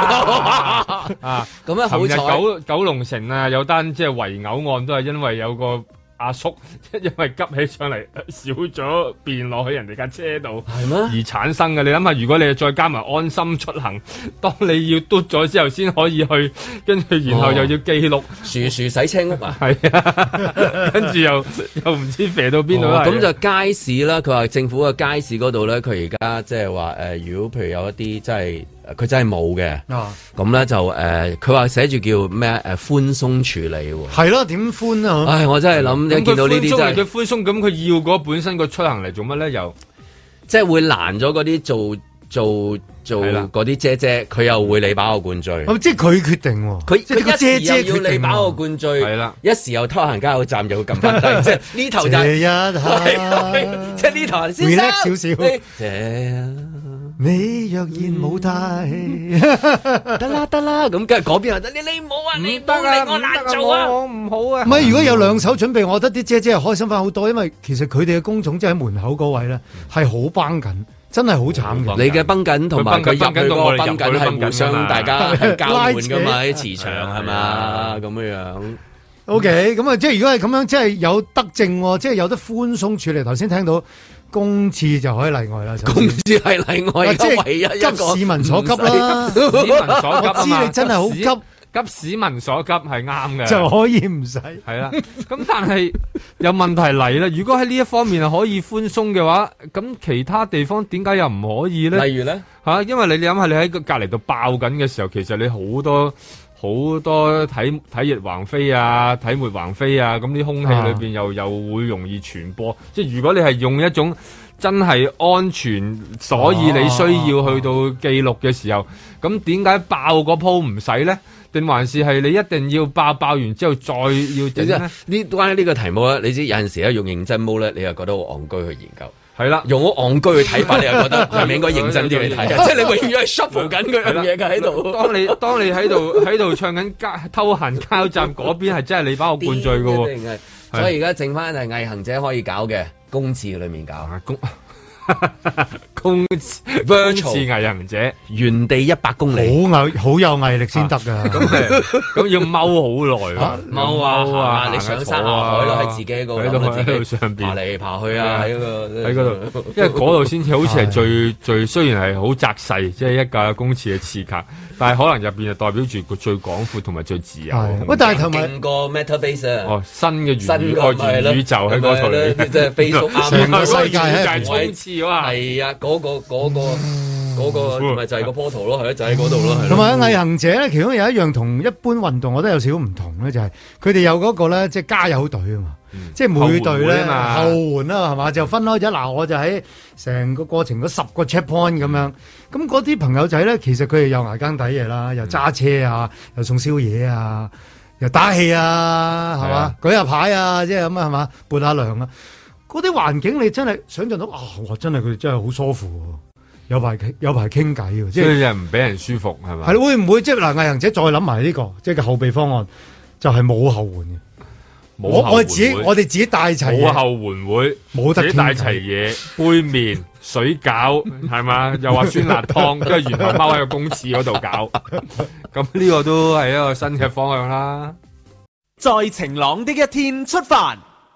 啊！咁啊，好彩九龍城啊，有單即係圍毆案都係因為有個阿叔因為急起上嚟少咗便落去人哋架車度， 係咩？ 而產生嘅。你諗下，如果你再加埋安心出行，當你要嘟咗之後先可以去，跟住然後又要記錄樹洗車屋啊， 係啊，跟住又唔知飛到邊度。 咁就街市啦。佢話政府嘅街市嗰度咧，佢而家即係話如果譬如有一啲真係佢真係冇嘅，咁咧就佢話寫住叫咩寬鬆處理喎。 係咯，點寬啊？ 唉，我真係諗一見到呢啲真係佢寬鬆，咁佢要嗰本身個出行嚟做乜咧？又即係會攔咗嗰啲做嗰啲姐姐，佢又會你把我灌醉。 即係佢決定喎， 佢一時又要你把我灌醉，係啦，一時又偷行加油站又撳翻低，即係呢頭就即係呢頭先生少少。你若然冇帶， 得啦，咁跟住嗰邊話你唔好啊，你唔好令我難做啊， 我唔好啊。 唔係，如果有兩手準備，我覺得啲姐姐係開心翻好多，因為其實佢哋嘅工種即係喺門口嗰位咧，係好繃緊，真係好慘嘅。 你嘅繃緊同埋佢入去嗰個繃緊係互相大家係交換噶嘛，啲磁場係嘛咁樣。 OK，咁啊，即係如果係咁樣，即係有德政，即係有得寬鬆處理。頭先聽到公廁就可以例外啦， 公廁係例外，即係唯一一個急市民所急啦， 市民所急啊嘛， 我知你真係好急。 急市民所急係啱嘅， 就可以唔使係啦。咁但係有問題嚟啦。如果喺呢一方面係可以寬鬆嘅話，咁其他地方點解又唔可以咧？ 例如咧因為你諗下，你喺個隔離度爆緊嘅時候，其實你好多體液橫飛啊，體沫橫飛啊，咁啲空氣裏邊又會容易傳播。即係如果你係用一種真係安全，所以你需要去到記錄嘅時候，咁點解爆嗰鋪唔使咧？定還是係你一定要爆完之後再要整咧？ 呢關於呢個題目咧，你知有陣時咧用認真毛咧，你又覺得好戇居去研究。 係啦， 用好戇居去睇法，你又覺得係咪應該認真啲去睇？即係你永遠係 shuffle 緊嗰樣嘢嘅喺度。 當你喺度唱緊偷行加油站嗰邊係真係你把我灌醉嘅喎。 所以而家剩翻係毅行者可以搞嘅公廁裏面搞公廁毅行者原地100公里， 好有毅力先得噶。 咁要踎好耐啊， 踎啊！你上山下海咯，喺自己個喺度上邊爬嚟爬去啊，喺嗰度，因為嗰度先至好似係最雖然係好窄細，即係一架公廁嘅廁格，但係可能入邊就代表住個最廣闊同埋最自由。 喂，但係同埋勁過 Metabase 新嘅元宇宙喺嗰度嚟， 即係 Facebook 成個世界係衝刺啊！ 係啊，嗰個咪就係個波圖咯，係咯，就喺嗰度咯。 同埋毅行者咧，其中有一樣同一般運動我覺得有少少唔同咧，就係佢哋有嗰個咧，即係加油隊啊嘛，即係每隊咧後援啦，係嘛，就分開咗。嗱，我就喺成個過程嗰10個 checkpoint 咁樣，咁嗰啲朋友仔咧，其實佢哋又捱更抵嘢啦，又揸車啊，又送宵夜啊，又打氣啊，係嘛，舉下牌啊，即係咁啊，係嘛，撥下涼啊。嗰啲環境你真係想象到哇！真係佢哋真係好舒服喎，有排傾偈喎，即係唔俾人舒服係咪？ 係會唔會即係嗱？毅行者再諗埋呢個，即係個後備方案，就係冇後援嘅。我哋自己帶齊冇後援會，冇得帶齊嘢，杯麵、水餃係嘛？又話酸辣湯，跟住然後踎喺個公廁嗰度搞。咁呢個都係一個新嘅方向啦。 在晴朗的一天出發。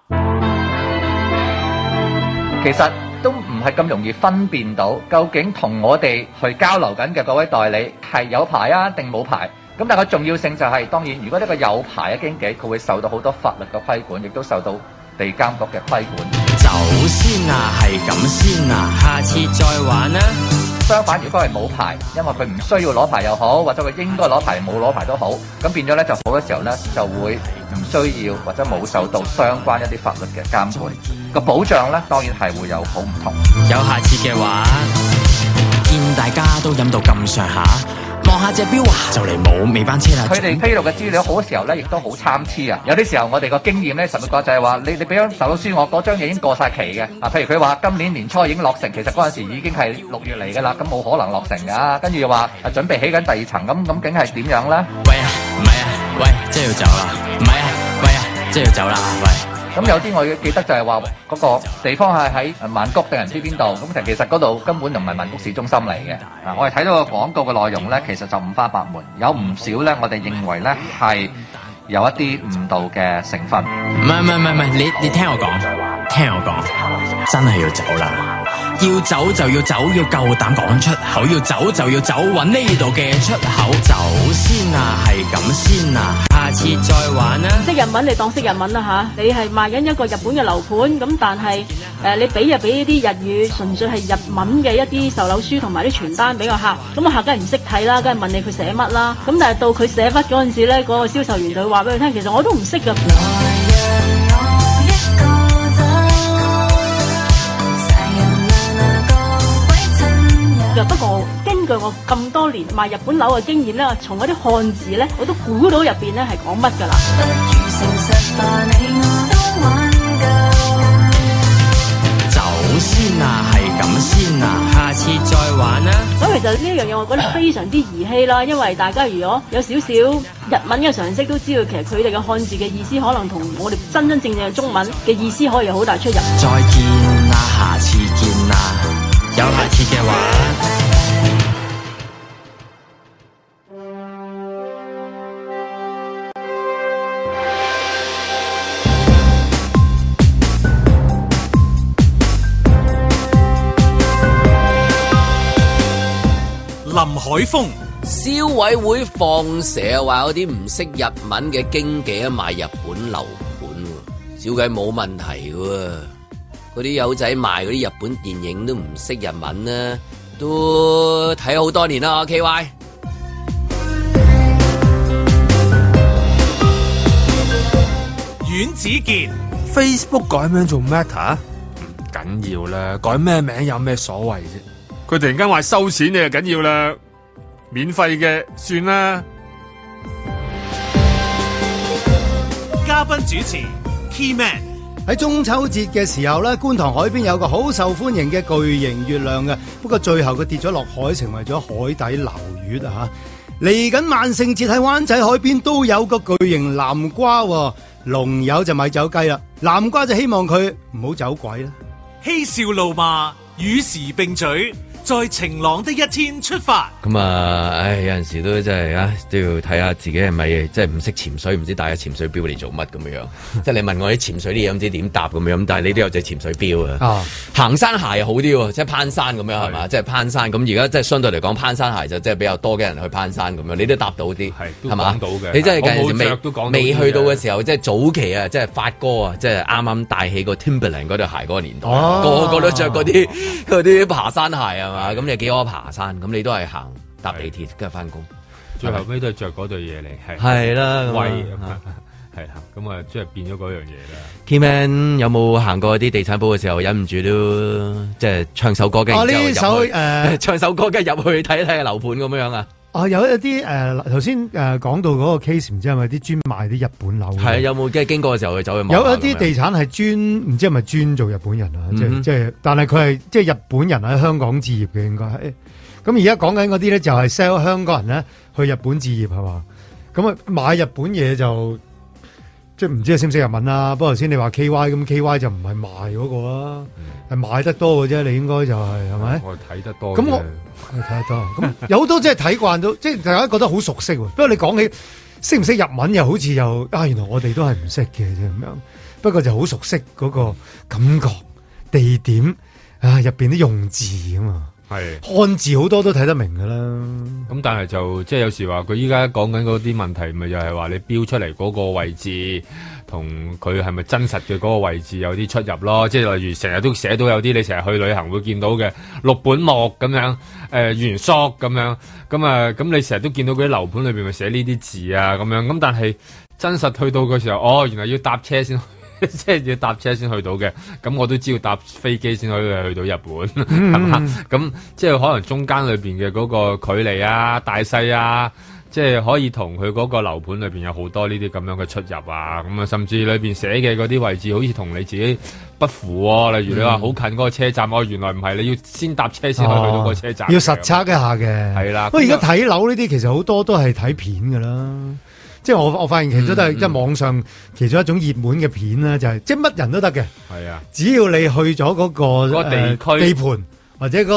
其實都唔係咁容易分辨到，究竟同我哋去交流緊嘅嗰位代理係有牌啊定冇牌？咁但係個重要性就係，當然如果呢個有牌嘅經紀，佢會受到好多法律嘅規管，亦都受到地監局嘅規管。 走先啊，係咁先啊，下次再玩啦。 相反，如果係冇牌，因為佢唔需要攞牌又好，或者佢應該攞牌冇攞牌都好，咁變咗咧就好多時候咧就會唔需要或者冇受到相關一啲法律嘅監管，個保障咧當然係會有好唔同。 有下次嘅話，見大家都飲到咁上下，望下隻錶啊，就嚟冇尾班車啦。 佢哋披露嘅資料好多時候咧，亦都好參差啊！有啲時候我哋個經驗咧，實會覺就係話，你俾張手書我，嗰張嘢已經過晒期嘅。啊，譬如佢話今年年初已經落成，其實嗰陣時已經係6月嚟㗎啦，咁冇可能落成㗎。跟住又話準備起緊第2層，咁究竟係點樣咧？ 喂啊，唔係啊，喂，即係要走啦！唔係啊，喂啊，即係要走啦！喂。 咁有啲我記得就係話嗰個地方係喺曼谷定唔知邊度，咁其實嗰度根本就唔係曼谷市中心嚟嘅。啊，我哋睇到個廣告嘅內容咧，其實就五花八門，有唔少咧，我哋認為咧係有一啲誤導嘅成分。 唔係，你聽我講，真係要走啦！要走就要走，要夠膽講出口，要走就要走，搵呢度嘅出口。走先啊，係咁先啊，下次再玩啊！ 識日文你當識日文啦吓，你係賣緊一個日本嘅樓盤，咁但係你俾啲日語，純粹係日文嘅一啲售樓書同埋啲傳單俾個客，咁個客梗係唔識睇啦，梗係問你佢寫乜啦，咁但係到佢寫筆嗰陣時咧，嗰個銷售員就會話俾佢聽，其實我都唔識噶。不過根據我咁多年賣日本樓嘅經驗咧，從嗰啲漢字咧，我都估到入邊咧係講乜㗎啦。 走先啊，係咁先啊，下次再玩啊。 咁其實呢一樣嘢我覺得非常之兒戲啦，因為大家如果有少少日文嘅常識都知道，其實佢哋嘅漢字嘅意思可能同我哋真真正正嘅中文嘅意思可以有好大出入。 再見啊，下次見啊，有下次嘅話。 林海峰， 消委會放蛇話嗰啲唔識日文嘅經紀賣日本樓盤，照計冇問題喎。嗰啲友仔賣嗰啲日本電影都唔識日文啦，都睇好多年啦。KY， 阮子健 Facebook 改名做 Meta 唔緊要啦，改咩名有咩所謂啫？佢突然間話收錢你就緊要啦，免費嘅算啦。 嘉賓主持 Keyman 喺中秋節嘅時候咧，觀塘海邊有個好受歡迎嘅巨型月亮嘅，不過最後佢跌咗落海，成為咗海底撈月啊！嚟緊萬聖節喺灣仔海邊都有個巨型南瓜，龍友就咪走雞啦，南瓜就希望佢唔好走鬼啦。 嬉笑怒罵與時並舉，在晴朗的一天出發。 咁啊，有陣時都真係都要睇下自己係咪即係唔識潛水，唔知帶個潛水錶嚟做乜咁樣。即係你問我啲潛水啲嘢，唔知點答咁樣。但係你都有隻潛水錶啊。行山鞋又好啲喎，即係攀山咁樣係嘛？即係攀山咁而家即係相對嚟講，攀山鞋就即係比較多嘅人去攀山咁樣。你都答到啲係嘛？你真係未去到嘅時候，即係早期啊，即係發哥啊，即係啱啱帶起個 Timberland 嗰對鞋嗰個年代，個個都着嗰啲爬山鞋啊。咁你幾可爬山？咁你都係行搭地鐵跟住翻工， 最後尾都係着嗰對嘢嚟， 係啦， 威係啦，咁啊，即係變咗嗰樣嘢啦。 Keyman 有冇行過啲地產鋪嘅時候，忍唔住都即係唱首歌嘅？ 呢首唱首歌嘅入去睇睇樓盤咁樣啊？ 有一啲頭先講到嗰個 case， 唔知係咪啲專賣啲日本樓？係有冇即係經過嘅時候去走去望？ 有一啲地產係專唔知係咪專做日本人啊？即係，但係佢係即係日本人喺香港置業嘅，應該係。咁而家講緊嗰啲咧就係 sell 香港人咧去日本置業係嘛？咁啊買日本嘢就即係唔知係識唔識日文啦。不過頭先你話 KY 咁 KY 就唔係賣嗰個啊，係買得多嘅啫。你應該就係咪？ 我睇得多。 咁我睇得多。咁有好多即係睇慣到，即係大家覺得好熟悉。不過你講起識唔識日文又好似又原來我哋都係唔識嘅啫咁樣。不過就好熟悉嗰個感覺、地點入邊啲用字啊嘛。係漢字好多都睇得明噶啦， 咁但係就即係有時話佢依家講緊嗰啲問題，咪就係話你標出嚟嗰個位置同佢係咪真實嘅嗰個位置有啲出入咯。即係例如成日都寫到有啲你成日去旅行會見到嘅六本木咁樣，原宿咁樣，咁你成日都見到嗰啲樓盤裏邊咪寫呢啲字啊咁樣，咁但係真實去到嘅時候，原來要搭車先。即係要搭車先去到嘅，咁我都知要搭飛機先可以去到日本，係嘛？咁即係可能中間裏邊嘅嗰個距離啊、大細啊，即係可以同佢嗰個樓盤裏邊有好多呢啲咁樣嘅出入啊，咁啊，甚至裏邊寫嘅嗰啲位置好似同你自己不符喎。例如你話好近嗰個車站，原來唔係，你要先搭車先可以去到個車站， 要實測一下嘅。係啦，不過而家睇樓呢啲其實好多都係睇片噶啦。即係我發現其實都係即係網上其中一種熱門嘅片啦，就係即係乜人都得嘅。係啊，只要你去咗嗰個地區地盤或者嗰個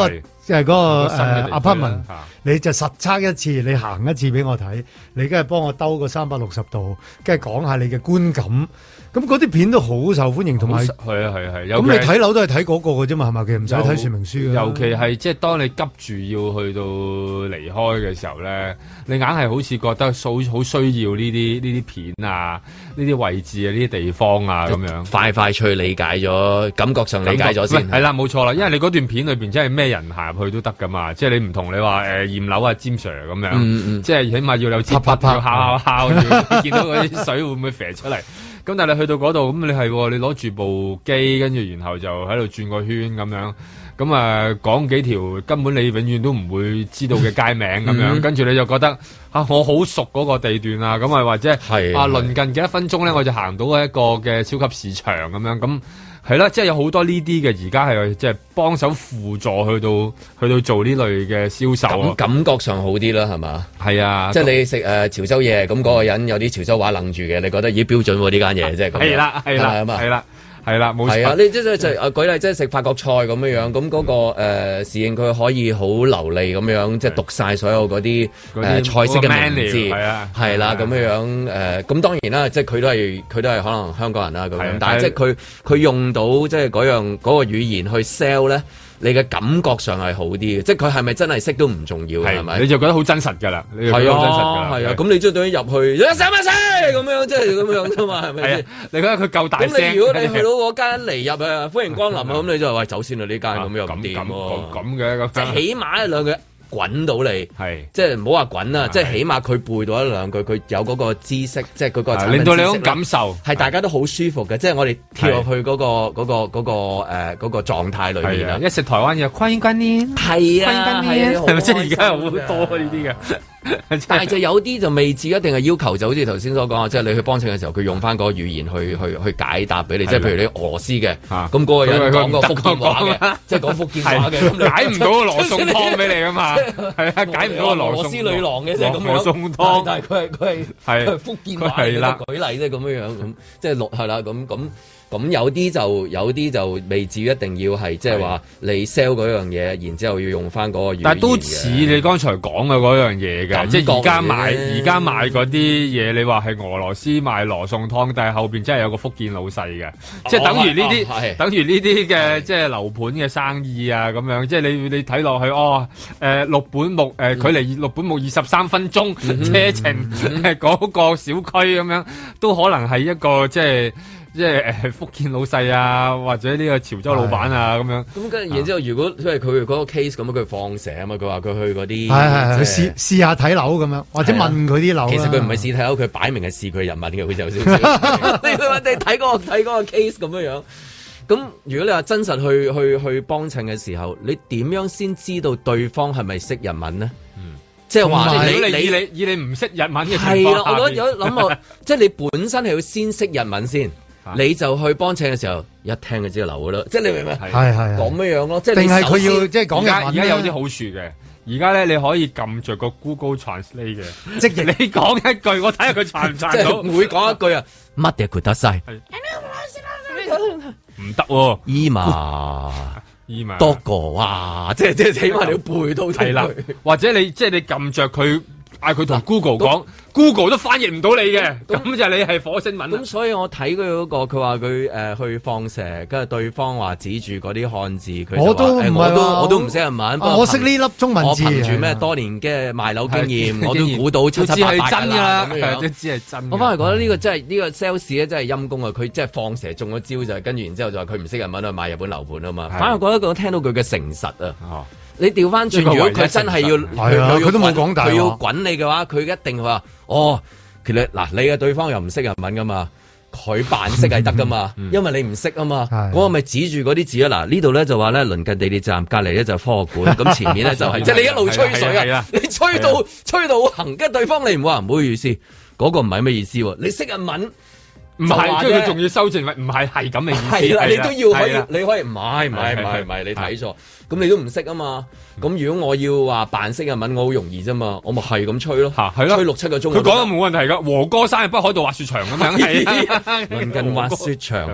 即係嗰個 apartment， 你就實測一次，你行一次俾我睇，你梗係幫我兜個360度，跟住講下你嘅觀感。咁嗰啲片都好受歡迎，同埋係啊。 咁你睇樓都係睇嗰個嘅啫嘛，係咪？其實唔使睇說明書嘅。 尤其係即係當你急住要去到離開嘅時候咧，你硬係好似覺得好需要呢啲片啊，呢啲位置啊，呢啲地方啊咁樣。 快脆理解咗，感覺上理解咗先。 係啦，冇錯啦，因為你嗰段片裏邊真係咩人行入去都得噶嘛，即係你唔同你話驗樓啊詹 Sir 咁樣，即係起碼要有支筆要敲，要見到嗰啲水會唔會飛出嚟。咁但係你去到嗰度，咁你係你攞住部機，跟住然後就喺度轉個圈咁樣，咁啊講幾條根本你永遠都唔會知道嘅街名咁樣，跟住你就覺得我好熟嗰個地段啊，咁啊或者鄰近幾多分鐘咧，我就行到一個嘅超級市場咁樣咁。係啦，即係有好多呢啲嘅，而家係即係幫手輔助去到做呢類嘅銷售， 感覺上好啲啦，係嘛？ 係啊， 即係你食潮州嘢，咁嗰個人有啲潮州話愣住嘅，你覺得已標準喎呢間嘢，即係咁。 係啦，冇錯。 係啊，你即係舉例，即係食法國菜咁樣樣，咁嗰個侍應佢可以好流利咁樣，即係讀晒所有嗰啲菜式嘅名字，係啦咁樣樣咁當然啦，即係佢都係可能香港人啦咁樣，但係即係佢用到即係嗰個語言去 sell 咧。你嘅感覺上係好啲嘅，即係佢係咪真係識都唔重要，係咪？ 你就覺得好真實㗎啦，係啊， 係啊，咁你將對入去，一聲咁樣，即係咁樣啫嘛，係咪先？ 你覺得佢夠大聲？ 咁你如果你去到嗰間嚟入啊，歡迎光臨啊，咁你就話喂走先啦，呢間咁又咁掂嘅， 即係起碼一兩句。滾到你，即係唔好話滾啦，即係起碼佢背到一兩句，佢有嗰個知識，即係嗰個令到你種感受， 係大家都好舒服嘅，即係我哋跳入去嗰個狀態裏面啦。 一食台灣嘢，歡迎光臨， 係啊， 係咪即係而家有好多呢啲嘅？ 但係就有啲就未至一定係要求，就好似頭先所講啊，即係你去幫襯嘅時候，佢用翻嗰個語言去解答俾你，即係譬如你俄羅斯嘅，咁嗰個人講個福建話嘅，即係講福建話嘅， 解唔到個羅宋湯俾你噶嘛，係啊，解唔到個羅宋女郎嘅即係咁樣， 羅宋湯， 但係佢係福建話嘅舉例，即係咁樣樣咁，即係係啦咁有啲就未至於一定要係即係話你 sell 嗰樣嘢，然之後要用翻嗰個語言。 但係都似你剛才講嘅嗰樣嘢嘅，即係而家賣嗰啲嘢，你話係俄羅斯賣羅宋湯，但係後邊真係有個福建老細嘅，即係等於呢啲嘅即係樓盤嘅生意啊咁樣，即係你睇落去六本木距離六本木23分鐘車程嗰個小區咁樣，都可能係一個即係福建老細啊，或者呢個潮州老闆啊咁樣。 咁跟住然之後，如果因為佢嗰個 case 咁，佢放蛇啊嘛，佢話佢去嗰啲係試下睇樓咁樣，或者問佢啲樓。 其實佢唔係試睇樓，佢擺明係試佢人物嘅，佢就有少少。你睇嗰個 case 咁樣樣。咁如果你話真實去幫襯嘅時候，你點樣先知道對方係咪識日文呢？即係話你唔識日文嘅情況下， 係啦，我有諗過，即係你本身係要先識日文先。你就去幫襯嘅時候，一聽就知道流噶啦，即係你明唔明？係咁樣咯，即係定係佢要即係講日文。 而家有啲好處嘅，而家咧你可以撳着個 Google Translate 嘅，即係你講一句，我睇下佢傳唔傳到。 每講一句啊，乜嘢佢得晒？ 唔得喎， 伊瑪多個哇，即係起碼你要背到係啦， 或者你即係你撳着佢。嗌佢同 Google 講，Google 都翻譯唔到你嘅，咁就你係火星文。 咁所以我睇佢嗰個，佢話佢去放蛇，跟住對方話指住嗰啲漢字，佢我都唔識日文， 我識呢粒中文字。 我憑住咩多年嘅賣樓經驗，我都估到七七八八㗎啦。 都知係真。 我反而覺得呢個真係呢個 sales 咧真係陰功啊！佢即係放蛇中咗招就係跟住然之後就話佢唔識日文去賣日本樓盤啊嘛。反而覺得我聽到佢嘅誠實啊。你調翻轉，如果佢真係要，佢都冇講大話，佢要滾你嘅話，佢一定話，其實嗱，你嘅對方又唔識日文噶嘛，佢扮識係得噶嘛，因為你唔識啊嘛，嗰個咪指住嗰啲字啊，嗱呢度咧就話咧鄰近地鐵站，隔離咧就係科學館，咁前面咧就係，即係你一路吹水啊，你吹到好行，跟住對方你唔話唔好意思，嗰個唔係咩意思喎，你識日文。 唔係，即係佢仲要修正，唔係咁嘅意思。 係啦，你都要你可以唔係，你睇錯，咁你都唔識啊嘛。咁如果我要話扮識日文，我好容易啫嘛，我咪係咁吹咯，吹6-7個鐘。佢講得冇問題㗎，和歌山係北海道滑雪場咁樣，係鄰近滑雪場。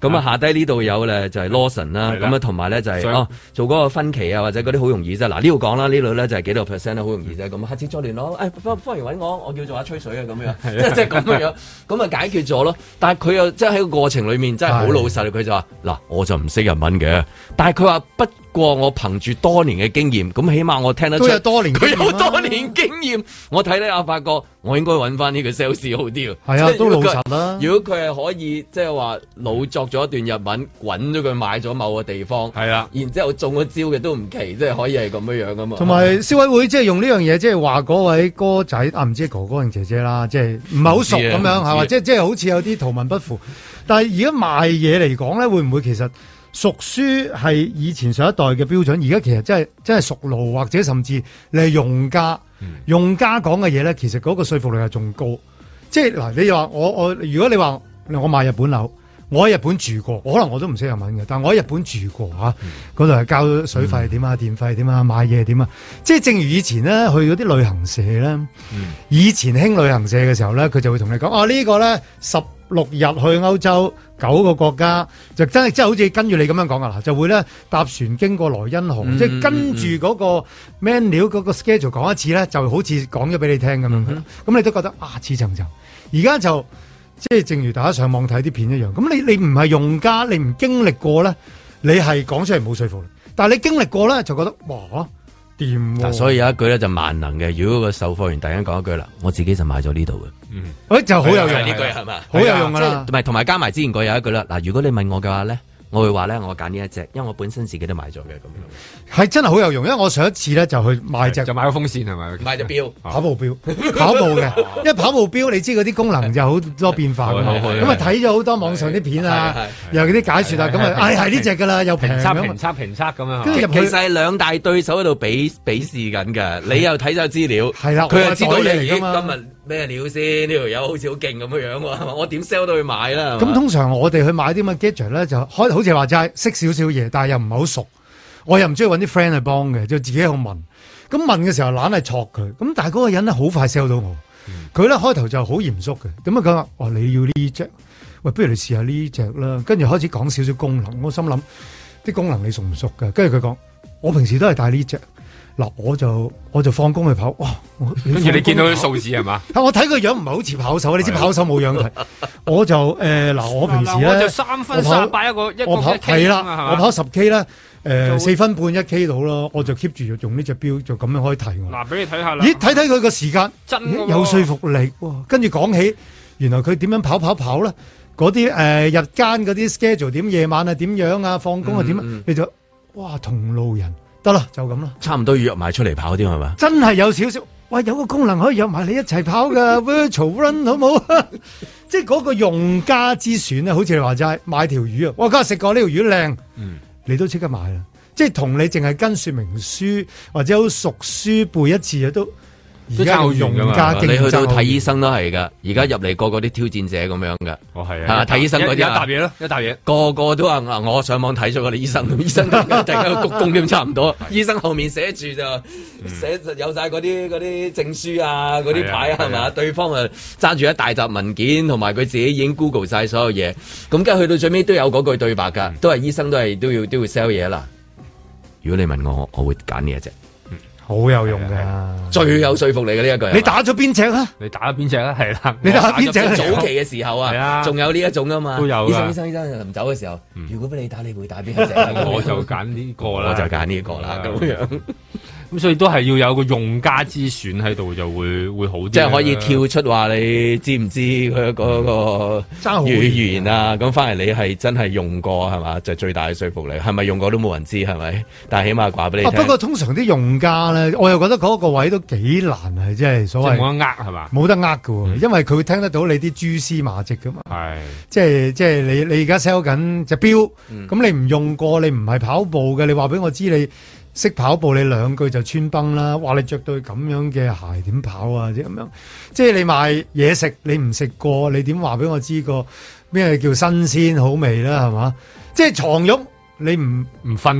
咁啊下低呢度有咧就係 Lawson 啦，咁啊同埋咧就係做嗰個分期啊或者嗰啲好容易啫。嗱呢度講啦，呢度咧就係幾多 percent 好容易啫。咁下次再聯絡，歡迎揾我叫做阿吹水啊咁樣，即係咁樣，咁啊解決咗咯。但係佢又即係喺個過程裏面真係好老實，佢就話嗱我就唔識日文嘅，但係佢話不過我憑住多年嘅經驗，咁起碼我聽得出佢有多年經驗，我睇咧我發覺我應該揾翻呢個 sales 好啲。係啊，都老實啦。如果佢係可以即係話老作咗一段日文，滾咗佢買咗某個地方，係啦，然之後中咗招嘅都唔奇，即係可以係咁樣樣噶嘛。同埋消委會即係用呢樣嘢，即係話嗰位哥仔唔知係哥哥定姐姐啦，即係唔係好熟咁樣係嘛？即係好似有啲圖文不符。但係而家賣嘢嚟講咧，會唔會其實熟書係以前上一代嘅標準？而家其實真係熟路，或者甚至你係用家，用家講嘅嘢咧，其實嗰個說服力係仲高。即係嗱，你話我如果你話我買日本樓，我喺日本住過，可能我都唔識日文嘅，但係我喺日本住過嚇，嗰度係交水費點啊、電費點啊、買嘢點啊。即係正如以前咧去嗰啲旅行社咧，以前興旅行社嘅時候咧，佢就會同你講呢個咧16日去歐洲9個國家，就真係好似跟住你咁樣講噶啦，就會咧搭船經過萊茵河，即係跟住嗰個 menu 嗰個 schedule 講一次咧，就好似講咗俾你聽咁樣。咁你都覺得似層層。而家就即係正如大家上網睇啲片一樣，咁你唔係用家，你唔經歷過咧，你係講出嚟冇說服力。但係你經歷過咧，就覺得哇掂喎。所以有一句咧就萬能嘅，如果個售貨員突然間講一句啦，我自己就買咗呢度嘅，就好有用呢句係嘛，好有用噶啦。同埋加埋之前嗰有一句啦，嗱，如果你問我嘅話咧，我會話咧，我揀呢一隻，因為我本身自己都買咗嘅咁樣，係真係好有用。因為我上一次咧就去買就買個風扇係咪？買隻錶，跑步錶，跑步嘅。因為跑步錶你知嗰啲功能就好多變化㗎嘛。咁啊睇咗好多網上啲片啊，又嗰啲解說啊，咁啊係呢隻㗎啦，又評測咁樣。跟住其實係兩大對手喺度比試緊㗎，你又睇咗資料，係啦，佢又知道你今日咩料先？呢條友好似好勁咁樣喎，我點 sell 到去買啦？咁通常我哋去買啲乜 gadget 咧，就好似話齋識少少嘢，但係又唔係好熟，我又唔中意揾啲 friend 去幫嘅，就自己喺度問。咁問嘅時候懶係戳佢，咁但係嗰個人咧好快 sell 到我。佢咧開頭就好嚴肅嘅，咁啊佢話：你要呢隻？喂，不如你試下呢隻啦。跟住開始講少少功能，我心諗啲功能你熟唔熟㗎？跟住佢講：我平時都係帶呢隻。嗱，我就放工去跑，哇！跟住你見到啲數字係嘛？我睇個樣唔係好似跑手，你知跑手冇樣睇。我就嗱，我平時咧，我就3分38一個我跑係啦，我跑10K 啦，4分半1K 到咯，我就 keep 住用呢隻錶，就咁樣可以睇我。嗱，俾你睇下啦。咦，睇佢個時間真有說服力喎。跟住講起，原來佢點樣跑咧？嗰啲日間嗰啲 schedule 點，夜晚啊點樣啊，放工啊點，你就哇同路人。得啦，就咁啦，差唔多要約埋出嚟跑啲係嘛？真係有少少，喂，有個功能可以約埋你一齊跑噶，virtual run 好唔好？即係嗰個用家之選咧，好似你話齋買條魚啊，我今日食過呢條魚靚，你都即刻買啦。即係同你淨係跟說明書或者好熟書背一次啊都。而家用家競爭，你去到睇醫生都係噶，而家入嚟個個啲挑戰者咁樣噶。哦，係啊，睇醫生嗰啲一沓嘢咯，一沓嘢，個個都話我上網睇咗個醫生，醫生突然間鞠躬咁差唔多。醫生後面寫住就寫有晒嗰啲證書啊，嗰啲牌係嘛？對方啊揸住一大沓文件，同埋佢自己已經 Google 晒所有嘢。咁跟住去到最尾都有嗰句對白噶，都係醫生都要 sell 嘢啦。如果你問我會揀呢一隻。好有用噶，最有說服力嘅呢一句。你打咗邊隻啊？你打咗邊隻啊？係啦，你打邊隻？早期嘅時候啊，仲有呢一種啊嘛。都有。醫生臨走嘅時候，如果俾你打，你會打邊一隻？我就揀呢個啦，我就揀呢個啦，咁樣。咁所以都係要有個用家之選喺度，就會好啲。即係可以跳出話你知唔知佢嗰個語言啊？咁翻嚟你係真係用過係嘛？就最大嘅說服力。係咪用過都冇人知係咪？但係起碼話俾你聽。不過通常啲用家咧，我又覺得嗰個位都幾難係，即係所謂冇得係嘛？冇得㗎，因為佢會聽得到你啲蛛絲馬跡噶嘛。係，即係你而家 sell 緊隻錶，咁你唔用過，你唔係跑步嘅，你話俾我知你。識跑步你2句就穿崩啦！哇，你着對咁樣嘅鞋點跑啊？即係咁樣，即係你賣嘢食，你唔食過，你點話俾我知個咩叫新鮮好味啦？係嘛？即係床褥你唔瞓過，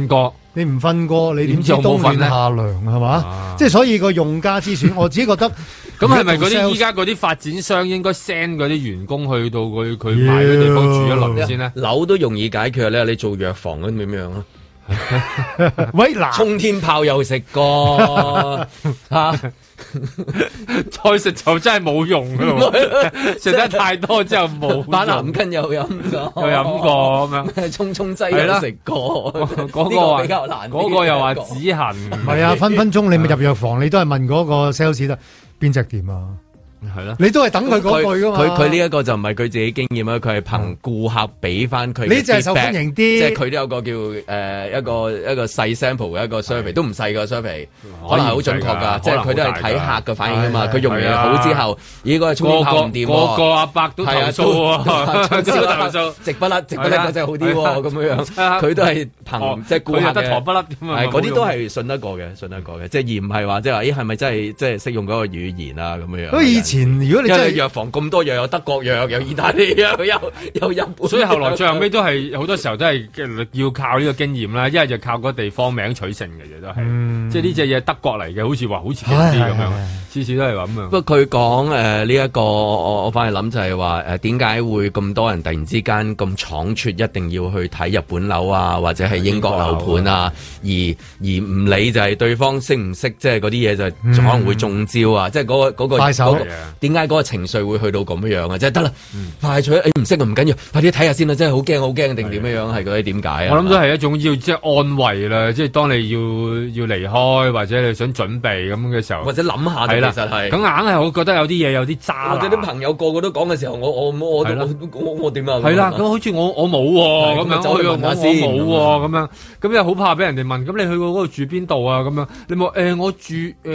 你唔瞓過，你點知冬暖夏涼係嘛？即係所以個用家之選，我自己覺得咁係咪嗰啲依家嗰啲發展商應該 send 嗰啲員工去到佢買嘅地方住一輪先咧？ 樓都容易解決咧，你做藥房咁點樣啊？ 喂，嗱， 沖天炮又食過嚇。 再食就真係冇用噶咯，食得太多之後冇。 板藍根又飲過咁樣， 沖劑又食過。 嗰個比較難，嗰個又話止痕。 唔係啊，分分鐘你咪入藥房，你都係問嗰個 sales 得邊隻店啊？ 係咯， 你都係等佢嗰句噶嘛？ 佢呢一個就唔係佢自己經驗啊，佢係憑顧客俾翻佢。 呢隻係受歡迎啲， 即係佢都有個叫一個細 sample 嘅一個 survey，都唔細個 survey，可能係好準確㗎。即係佢都係睇客嘅反應㗎嘛。佢用完好之後，咦嗰個沖天炮唔掂喎， 個阿伯都投訴啊，投訴直不甩嗰隻好啲喎，咁樣佢都係憑即係顧客得陀不甩咁啊。 嗰啲都係信得過嘅，即係而唔係話即係話咦係咪真係即係識用嗰個語言啊咁樣。 如果你真係藥房咁多藥，有德國藥，有意大利藥，有日本， 所以後來最後尾都係好多時候都係要靠呢個經驗啦，一係就靠嗰地方名取勝嘅嘢都係，即係呢隻嘢德國嚟嘅，好似話好似勁啲咁樣，次次都係咁樣。 不過佢講呢一個，我反而諗就係話點解會咁多人突然之間咁倉促，一定要去睇日本樓啊，或者係英國樓盤啊，而唔理就係對方識唔識，即係嗰啲嘢就可能會中招啊，即係嗰個快手。 點解嗰個情緒會去到咁樣啊？即係得啦，快脆唔識唔緊要，快啲睇下先啦！真係好驚定點樣係嗰啲點解啊？ 我諗都係一種要即係安慰啦，即係當你要離開或者你想準備咁嘅時候， 或者諗下其實係咁硬係，我覺得有啲嘢有啲渣， 或者啲朋友個個都講嘅時候，我點啊？ 係啦，咁好似我冇喎，咁樣我冇喎，咁樣咁又好怕俾人哋問，咁你去過嗰度住邊度啊？咁樣你冇我住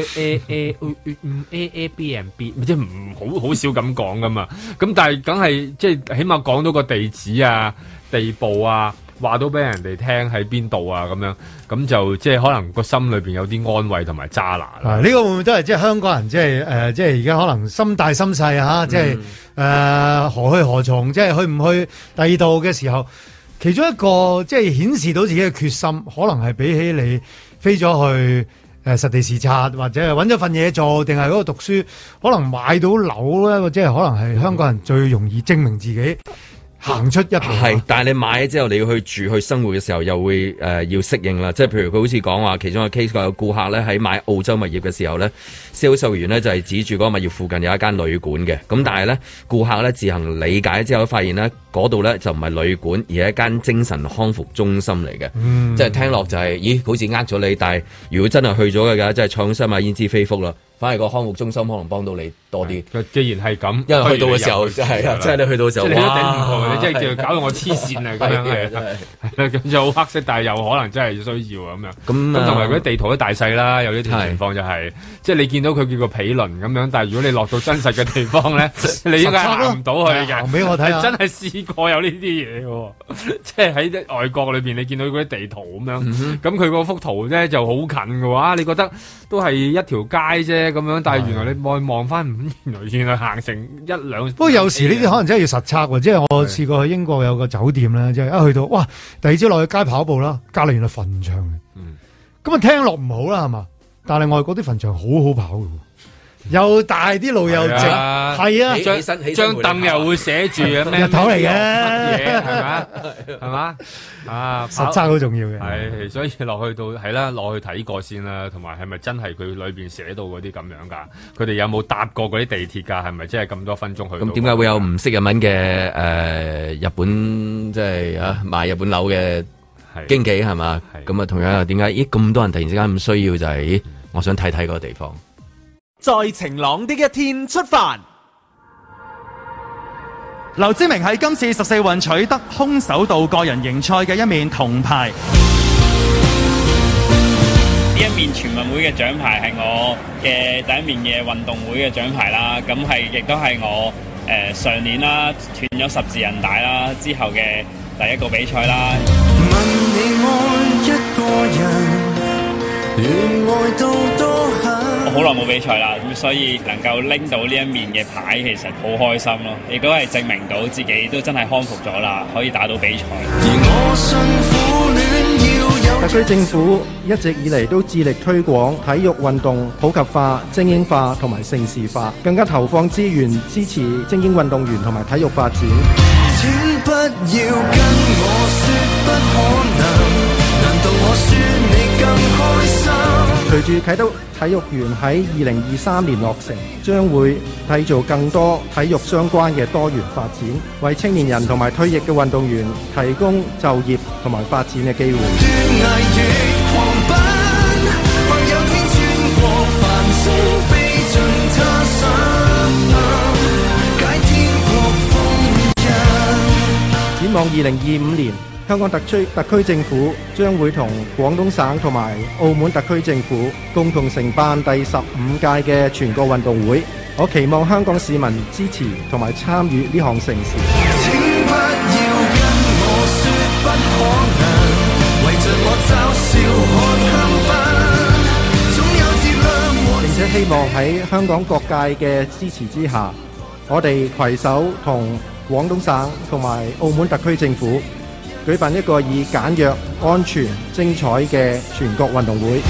Airbnb， 即係唔好少咁講噶嘛，咁但係梗係即係起碼講到個地址啊、地步啊，話到俾人哋聽喺邊度啊，咁樣咁就即係可能個心裏邊有啲安慰同埋揸拿啦。 呢個會唔會都係即係香港人即係即係而家可能心大心細啊？即係何去何從？即係去唔去第二度嘅時候，其中一個即係顯示到自己嘅決心，可能係比起你飛咗去。實地視察或者係揾咗份嘢做，定係嗰度讀書，可能買到樓咧，或者係可能係香港人最容易證明自己行出一步。 係，但係你買咗之後，你要去住去生活嘅時候，又會要適應啦。即係譬如佢好似講話，其中一個 case 有顧客咧喺買澳洲物業嘅時候咧，銷售員咧就係指住嗰個物業附近有一間旅館嘅。咁但係咧，顧客咧自行理解之後，發現咧嗰度咧就唔係旅館，而係一間精神康復中心嚟嘅。即係聽落就係，咦，好似呃咗你。但係如果真係去咗嘅，即係創新買焉知非福啦。反而個康復中心可能幫到你多啲。 既然係咁， 因為去到嘅時候係啊，即係你去到嘅時候， 你都頂唔過，你真係叫搞到我黐線啊咁樣係，咁就好黑色，但係又可能真係需要啊咁樣。咁同埋嗰啲地圖啲大細啦，有啲情況就係，即係你見到佢叫個毗鄰咁樣，但係如果你落到真實嘅地方咧，你應該行唔到去嘅。 行俾我睇下， 真係試過有呢啲嘢喎，即係喺外國裏邊你見到嗰啲地圖咁樣，咁佢嗰幅圖咧就好近嘅喎，你覺得都係一條街啫。咁樣，但係原來你望翻，原來行成一兩。不過有時呢啲可能真係要實測喎，即係我試過去英國有個酒店咧，即係一去到，哇！第二朝落去街跑步啦，隔離原來墳場嘅。咁啊聽落唔好啦，係嘛？但係外國啲墳場好好跑嘅。又大啲路又直，係啊！ 張凳又會寫住咩日頭嚟嘅， 係嘛？啊， 實測好重要嘅。 係，所以落去到係啦，落去睇過先啦，同埋係咪真係佢裏邊寫到嗰啲咁樣㗎？佢哋有冇搭過嗰啲地鐵㗎？係咪真係咁多分鐘去？ 咁點解會有唔識日文嘅日本即係賣日本樓嘅經紀係嘛？咁啊同樣又點解？咦咁多人突然之間咁需要就係，我想睇睇嗰個地方。 在晴朗的一天出發。 劉知名喺今次14運取得空手道個人型賽嘅一面銅牌。 呢一面全運會嘅獎牌係我嘅第一面嘅運動會嘅獎牌啦，咁係亦都係我上年啦斷咗十字韌帶啦之後嘅第一個比賽啦。問你愛一個人，願愛到多狠。我好耐冇比賽啦，咁所以能夠拎到呢一面嘅牌，其實好開心咯，亦都係證明到自己都真係康復咗啦，可以打到比賽。而我信苦戀要有特區政府一直以嚟都致力推廣體育運動普及化、精英化同埋盛事化，更加投放資源支持精英運動員同埋體育發展。 請不要跟我說不可能，難道我說你更開心？ 隨住啟德體育園喺2023年落成，將會締造更多體育相關嘅多元發展，為青年人同埋退役嘅運動員提供就業同埋發展嘅機會。展望2025年，香港特區政府將會同廣東省同埋澳門特區政府共同承辦第15屆嘅全國運動會。我期望香港市民支持同埋參與呢項盛事。請不要跟我說不可能，圍着我嘲笑看香檳，總有節量。並且希望喺香港各界嘅支持之下，我哋攜手同廣東省同埋澳門特區政府舉辦一個以簡約、安全、精彩嘅全國運動會。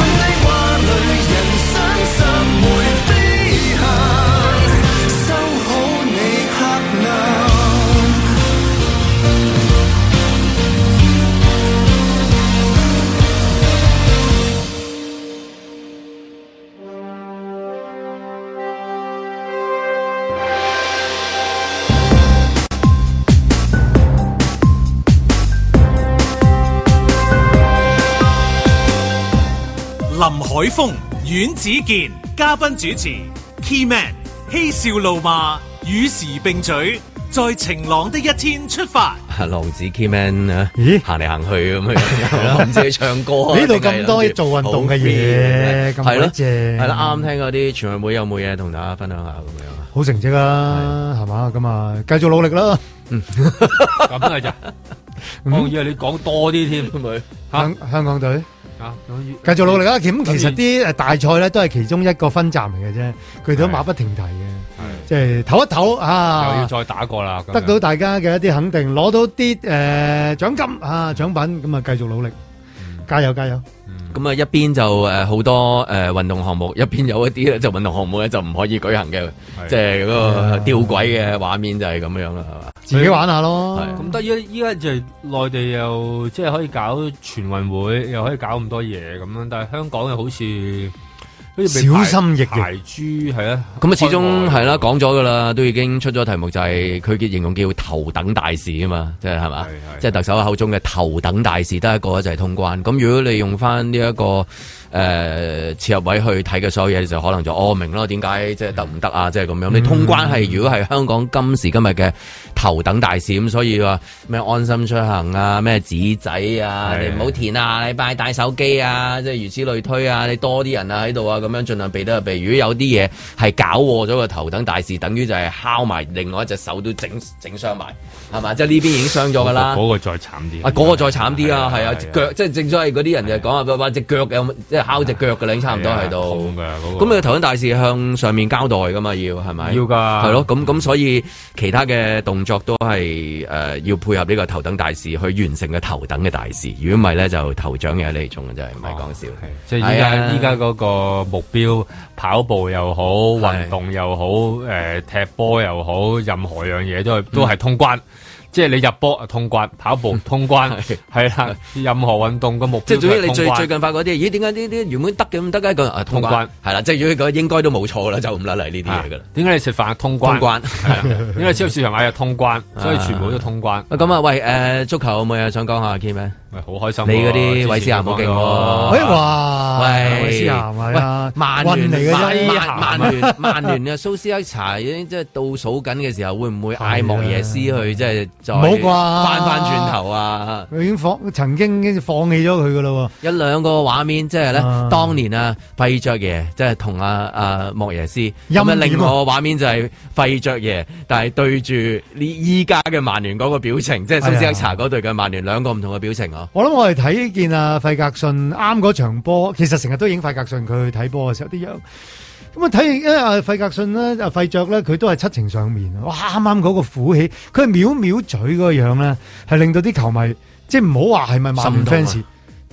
林海峰、阮子健嘉賓主持 ，Key Man 嬉笑怒罵，與時並舉，在晴朗的一天出發。 浪子 Key Man 啊，行嚟行去咁樣，唔知唱歌。 呢度咁多做運動嘅嘢，咁鬼正。 係啦，啱啱聽嗰啲全運會有冇嘢同大家分享下咁樣？ 好成績啦，係嘛？咁啊，繼續努力啦。 咁係咋？我以為你講多啲添， 香港隊。繼續努力啦！咁其實啲大賽咧都係其中一個分站嚟嘅啫，佢哋都馬不停蹄嘅，即係唞一唞啊！ 又要再打過啦， 得到大家嘅一啲肯定，攞到啲獎金啊獎品，咁啊繼續努力，加油加油！ 咁啊一邊就好多運動項目，一邊有一啲咧就運動項目咧就唔可以舉行嘅，即係嗰個吊詭嘅畫面就係咁樣啦，係嘛？ 自己玩下咯。 咁得依家就內地又即係可以搞全運會，又可以搞咁多嘢咁樣，但係香港又好似小心翼翼排豬係啊。 咁啊始終係啦，講咗噶啦，都已經出咗題目，就係佢嘅形容叫頭等大事啊嘛，即係係嘛，即係特首口中嘅頭等大事得一個就係通關。咁如果你用翻呢一個切入位去睇嘅所有嘢，就可能就明咯，點解即係得唔得啊？即係咁樣。你通關係如果係香港今時今日嘅頭等大事，咁所以話咩安心出行啊，咩紙仔啊，你唔好填啊，你帶手機啊，即係如此類推啊，你多啲人啊喺度啊，咁樣盡量避得就避。如果有啲嘢係搞禍咗個頭等大事，等於就係敲埋另外一隻手都整傷埋，係嘛？即係呢邊已經傷咗噶啦。 嗰個再慘啲。 嗰個再慘啲啊，係啊，腳即係正所謂嗰啲人就講話隻腳有即係敲隻腳嘅，你差唔多喺度。咁你頭等大事向上面交代噶嘛？要係咪？ 要噶。係咯，咁所以其他嘅動作都係要配合呢個頭等大事去完成嘅頭等嘅大事。如果唔係咧，就頭獎嘅呢種嘅真係唔係講笑。 即係依家嗰個目標，跑步又好，運動又好，踢波又好，任何樣嘢都係通關。即係你入波通關，跑步通關，係啦，任何運動嘅目標即係總之你最近發嗰啲，咦？點解呢啲原本得嘅唔得嘅？個通關係啦，即係如果應該都冇錯啦，就唔甩嚟呢啲嘢噶啦。 點解你食飯通關？點解超級市場買嘢通關？所以全部都通關。 咁啊，喂，足球有冇嘢想講下 Key 咩？ 好開心！ 你嗰啲韋斯咸好勁喎！ 哇！韋斯咸係啊，曼聯嚟嘅啫， 曼聯嘅蘇斯克查已經即係倒數緊嘅時候，會唔會嗌莫耶斯去即係再翻轉頭啊？ 佢已經曾經放棄咗佢噶啦， 一兩個畫面即係咧，當年啊費爵爺即係同阿莫耶斯，咁啊另外個畫面就係費爵爺，但係對住呢依家嘅曼聯嗰個表情，即係蘇斯克查嗰隊嘅曼聯兩個唔同嘅表情啊！ 我諗我哋睇見阿費格遜啱嗰場波，其實成日都影費格遜佢去睇波嘅時候啲樣。咁啊睇阿費格遜咧，阿費爵咧，佢都係七情上面。哇！啱啱嗰個虎氣，佢係藐藐嘴嗰個樣咧，係令到啲球迷即係唔好話係咪曼聯 fans，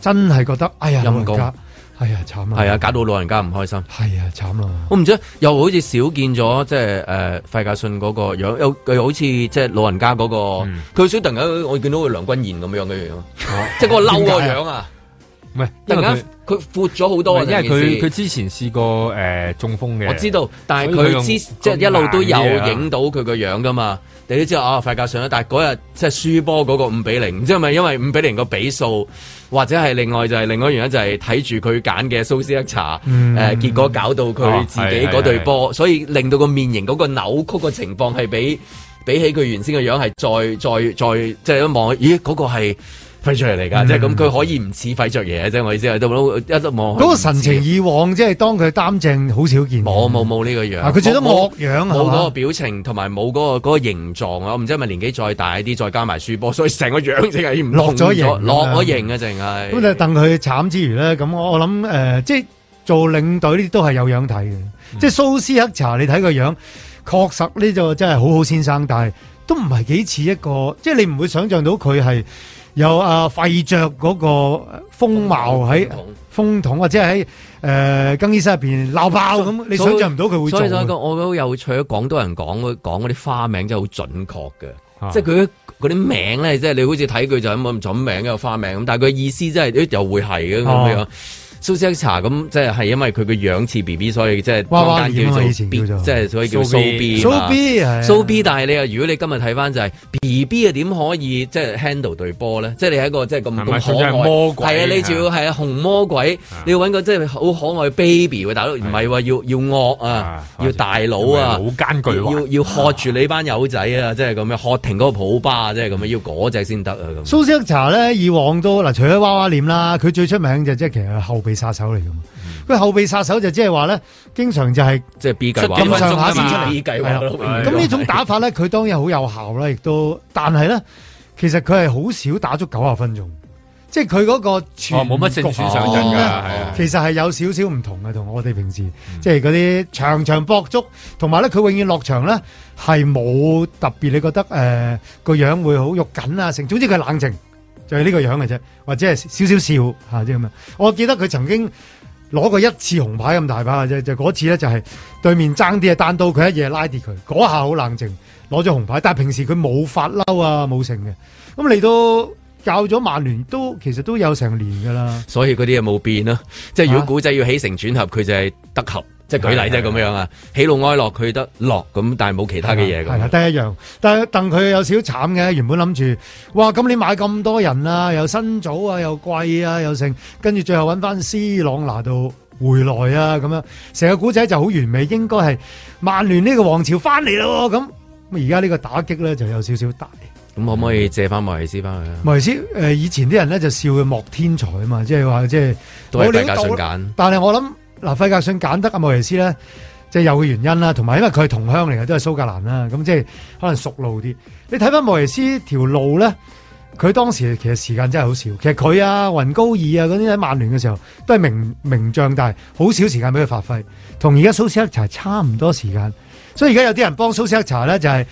真係覺得哎呀陰公， 係啊慘啊， 係啊搞到老人家唔開心， 係啊慘咯。 我唔知又好似少見咗即係費格遜嗰個樣，又好似即係老人家嗰個，佢少突然間我見到佢梁君彥咁樣嘅樣，即係嗰個嬲個樣啊！ 唔係， 突然間佢闊咗好多啊！ 因為佢之前試過中風嘅， 我知道，但係佢即係一路都有影到佢個樣噶嘛。你都知道啊，費格遜啦，但係嗰日即係輸波嗰個5-0，唔知係咪因為5-0個比數，或者係另外一個原因就係睇住佢揀嘅蘇斯克查，結果搞到佢自己嗰隊波，所以令到個面型嗰個扭曲嘅情況係比起佢原先嘅樣係再即係一望，咦嗰個係費爵爺嚟㗎，即係咁佢可以唔似費爵爺，即係我意思係都一望嗰個神情以往，即係當佢擔正好少見， 冇呢個樣， 佢最多惡樣啊， 冇嗰個表情同埋冇嗰個形狀啊！我唔知係咪年紀再大啲，再加埋輸波，所以成個樣淨係唔落咗型， 落咗型啊！淨係咁就戥佢慘之餘咧，咁我諗即係做領隊呢啲都係有樣睇嘅，即係蘇斯克查你睇個樣，確實呢就真係好好先生，但係都唔係幾似一個，即係你唔會想象到佢係。有費爵嗰個風貌喺風筒或者喺更衣室入邊鬧爆咁，你想象唔到佢會做。所以我覺得好有趣，廣東人講嗰啲花名真係好準確嘅，即係佢嗰啲名咧，即係你好似睇佢就咁準名一個花名咁，但係佢意思真係又會係嘅咁樣。蘇斯克查咁即係因為佢個樣似 B B， 所以即係坊間叫做 B， 即係所以叫蘇 B。蘇 B， 但係你如果你今日睇翻就係 B B 啊，點可以即係 handle 對波咧？即係你係一個即係咁可愛魔鬼，係啊，你仲要係紅魔鬼，你要揾個即係好可愛 baby 喎，大佬唔係話要惡啊，要大佬啊， 好艱巨要喝住你班友仔啊，即係咁樣喝停嗰個普巴，即係咁樣要嗰隻先得啊咁。 蘇斯克查咧以往都嗱，除咗娃娃臉啦，佢最出名就即係其實後備殺手嚟噶嘛，佢後備殺手就即係話咧，經常就係即係 B 計劃咁上下先出嚟 B 計劃。 咁呢種打法咧，佢當然好有效啦，亦都，但係咧，其實佢係好少打足90分鐘，即係佢嗰個全冇乜正選上陣㗎， 其實係有少少唔同嘅，同我哋平時即係嗰啲場場搏足，同埋咧佢永遠落場咧係冇特別，你覺得個樣會好肉緊啊，總之佢冷靜。就係呢個樣嘅啫，或者係少少笑嚇即係咁樣。我記得佢曾經攞過一次紅牌咁大把嘅啫，就嗰次咧就係對面爭啲啊，單刀佢一嘢拉跌佢，嗰下好冷靜，攞咗紅牌。但係平時佢冇發嬲啊，冇成嘅。咁嚟到教咗曼聯都其實都有成年㗎啦。 所以嗰啲嘢冇變啦。即係如果古仔要起承轉合，佢就係得合。即係舉例啫咁樣啊，喜怒哀樂佢得樂咁，但係冇其他嘅嘢咁。係得一樣。但係戥佢有少少慘嘅，原本諗住，哇！咁你買咁多人啊，又新組啊，又貴啊，又剩，跟住最後揾翻 C 朗拿度回來啊，咁樣成個古仔就好完美，應該係曼聯呢個王朝翻嚟咯。咁而家呢個打擊咧就有少少大。 咁可唔可以借翻莫耶斯翻去啊？ 莫耶斯以前啲人咧就笑佢莫天才啊嘛，即係話即係都係費格遜揀。 但係我諗。嗱，費格遜揀得阿莫耶斯咧，即係有個原因啦，同埋因為佢係同鄉嚟嘅，都係蘇格蘭啦，咁即係可能熟路啲。你睇翻莫耶斯條路咧，佢當時其實時間真係好少。其實佢啊、雲高爾啊嗰啲喺曼聯嘅時候都係名將，但係好少時間俾佢發揮，同而家蘇斯克查差唔多時間。所以而家有啲人幫蘇斯克查咧，就係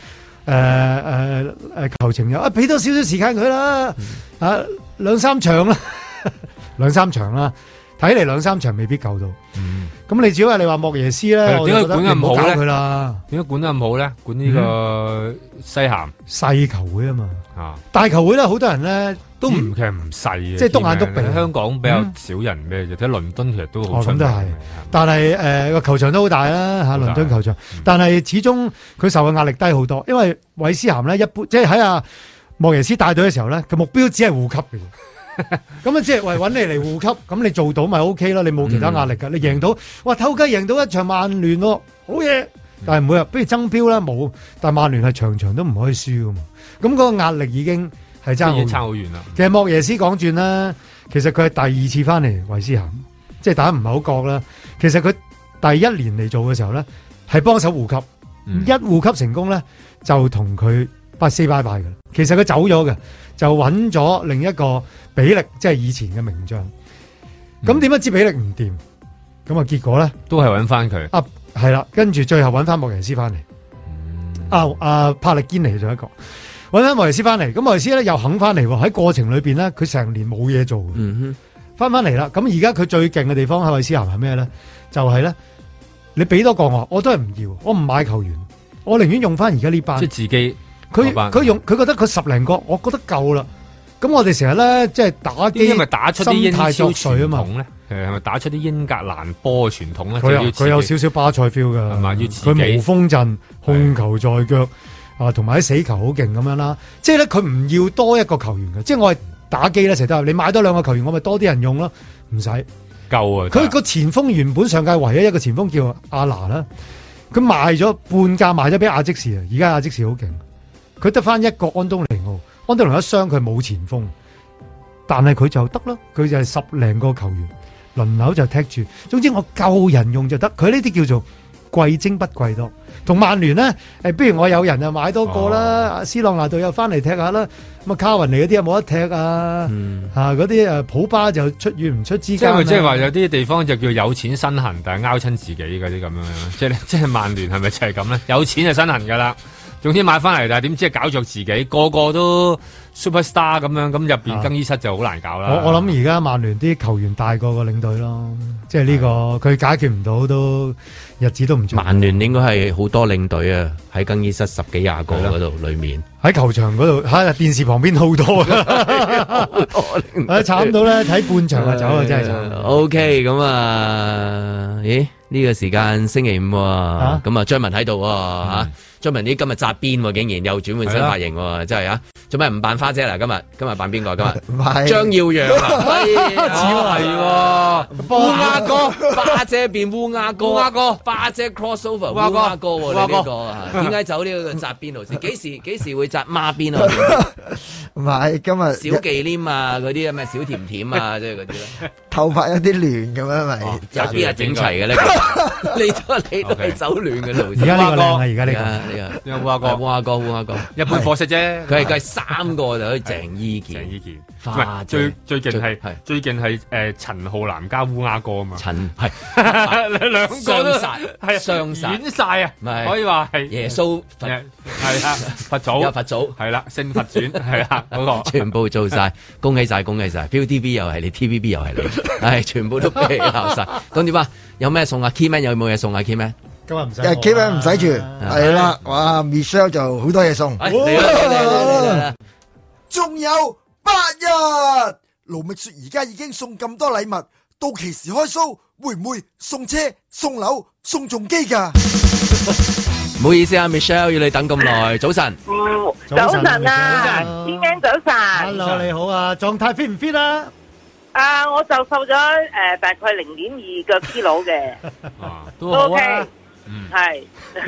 求情又俾多少少時間佢啦，兩三場啦，睇嚟2-3場未必夠到，咁你只係你話莫耶斯咧， 點解管得咁好咧？ 佢啦， 點解管得咁好咧？管呢個西咸細球會啊嘛，大球會咧，好多人咧都唔其實唔細嘅， 即係篤眼篤鼻。 香港比較少人咩嘅，睇倫敦其實都好出名。 咁都係，但係個球場都好大啦嚇，倫敦球場。但係始終佢受嘅壓力低好多，因為韋斯咸咧一般，即係喺阿莫耶斯帶隊嘅時候咧，佢目標只係護級嘅。咁啊，即係揾你嚟護級，咁你做到咪 OK 咯？你冇其他壓力噶，你贏到，哇，偷雞贏到一場曼聯咯，好嘢！但係每日不如爭標啦，冇，但係曼聯係場場都唔可以輸噶嘛，咁嗰個壓力已經係差好遠啦。其實莫耶斯講轉啦，其實佢係第2次翻嚟韋斯咸，即係大家唔係好覺啦。其實佢第1年嚟做嘅時候咧，係幫手護級，一護級成功咧，就同佢say bye bye嘅。其實佢走咗嘅，就揾咗另一個比力，即係以前嘅名將。咁點解知比力唔掂？咁啊結果咧， 都係揾翻佢。 係啦，跟住最後揾翻莫耶斯翻嚟。帕力堅尼仲有一個揾翻莫耶斯翻嚟。咁莫耶斯咧又肯翻嚟喎。喺過程裏邊咧，佢成年冇嘢做。 翻嚟啦。咁而家佢最勁嘅地方喺韋斯咸係咩咧？就係咧，你俾多個我都係唔要，我唔買球員，我寧願用翻而家呢班。 即係自己佢覺得佢10零個，我覺得夠啦。咁我哋成日咧即係打機， 因為打出啲英超傳啊嘛。 係咪打出啲英格蘭波嘅傳統咧？ 佢有少少巴塞 feel 噶， 係嘛？要自己佢無鋒陣，控球在腳啊，同埋啲死球好勁咁樣啦。即係咧，佢唔要多一個球員嘅。即係我係打機咧，成日都話你買多2個球員，我咪多啲人用咯，唔使夠啊！ 佢個前鋒原本上屆唯一一個前鋒叫阿拿啦，佢賣咗半價賣咗俾阿積士啊！而家阿積士好勁，佢得翻一個安東尼奧，安東尼奧一傷佢冇前鋒，但係佢就得啦，佢就係10零個球員。輪流就踢住，總之我夠人用就得。佢呢啲叫做貴精不貴多。同曼聯咧，不如我有人就買多個啦。斯朗拿度又翻嚟踢下啦。咁啊，卡雲尼嗰啲有冇得踢啊？嗰啲普巴就出遠唔出之間。 即係話有啲地方就叫有錢身痕，但係拗親自己嗰啲咁樣。即係曼聯係咪就係咁咧？有錢就身痕噶啦。總之買翻嚟，但係點知係搞着自己，個個都 superstar 咁樣，咁入邊更衣室就好難搞啦。 我諗而家曼聯啲球員大過個領隊咯，即係呢個佢解決唔到都日子都唔長。 曼聯應該係好多領隊啊，喺更衣室10幾20個嗰度裏面， 喺球場嗰度喺電視旁邊好多啊，好多慘到咧睇半場就走啊，真係慘。 OK， 咁咦？呢個時間星期5啊，咁啊張文喺度嚇。張文啲今日紮辮喎，竟然又轉換新髮型喎，真係啊！做咩唔扮花姐啦？今日扮邊個？今日張耀揚啊，似係喎，烏鴉哥，花姐變烏鴉哥，烏鴉哥，花姐 crossover，烏鴉哥喎，你呢個啊？點解走呢個紮辮路線？幾時會紮孖辮啊？ 唔係今日小忌廉啊，嗰啲咩小甜甜啊，即係嗰啲咧。 頭髮有啲亂咁樣咪？ 有啲係整齊嘅咧，你都係走亂嘅路線。 而家呢個靚啊！而家呢個。 烏鴉哥，一般貨色啫。佢係3個就可以鄭伊健。 唔係最勁係陳浩南加烏鴉哥啊嘛。陳係兩個都係雙殺，演晒啊！可以話係耶穌係啊，佛祖有佛祖係啦，聖佛傳係啦，嗰個全部做晒，恭喜晒！ViuTV 又係你 ，TVB 又係你，係全部都俾你鬧晒。咁點啊？有咩送啊 ？Keyman 有冇嘢送啊 ？Keyman？ 今日唔使 ，Keyman 唔使住，係啦，哇 ，Michelle 就好多嘢送， 嚟， 仲有8日，盧覓雪而家已經送咁多禮物，到期時開 show 會唔會送車、送樓、送重機㗎？ 唔好意思啊 ，Michelle 要你等咁耐，早晨， 早晨啊 ，Keyman 早晨 ，Hello 你好啊，狀態 fit 唔 fit 啊？ 我就瘦咗大概0.2個 kilo 嘅， 都好啊。 係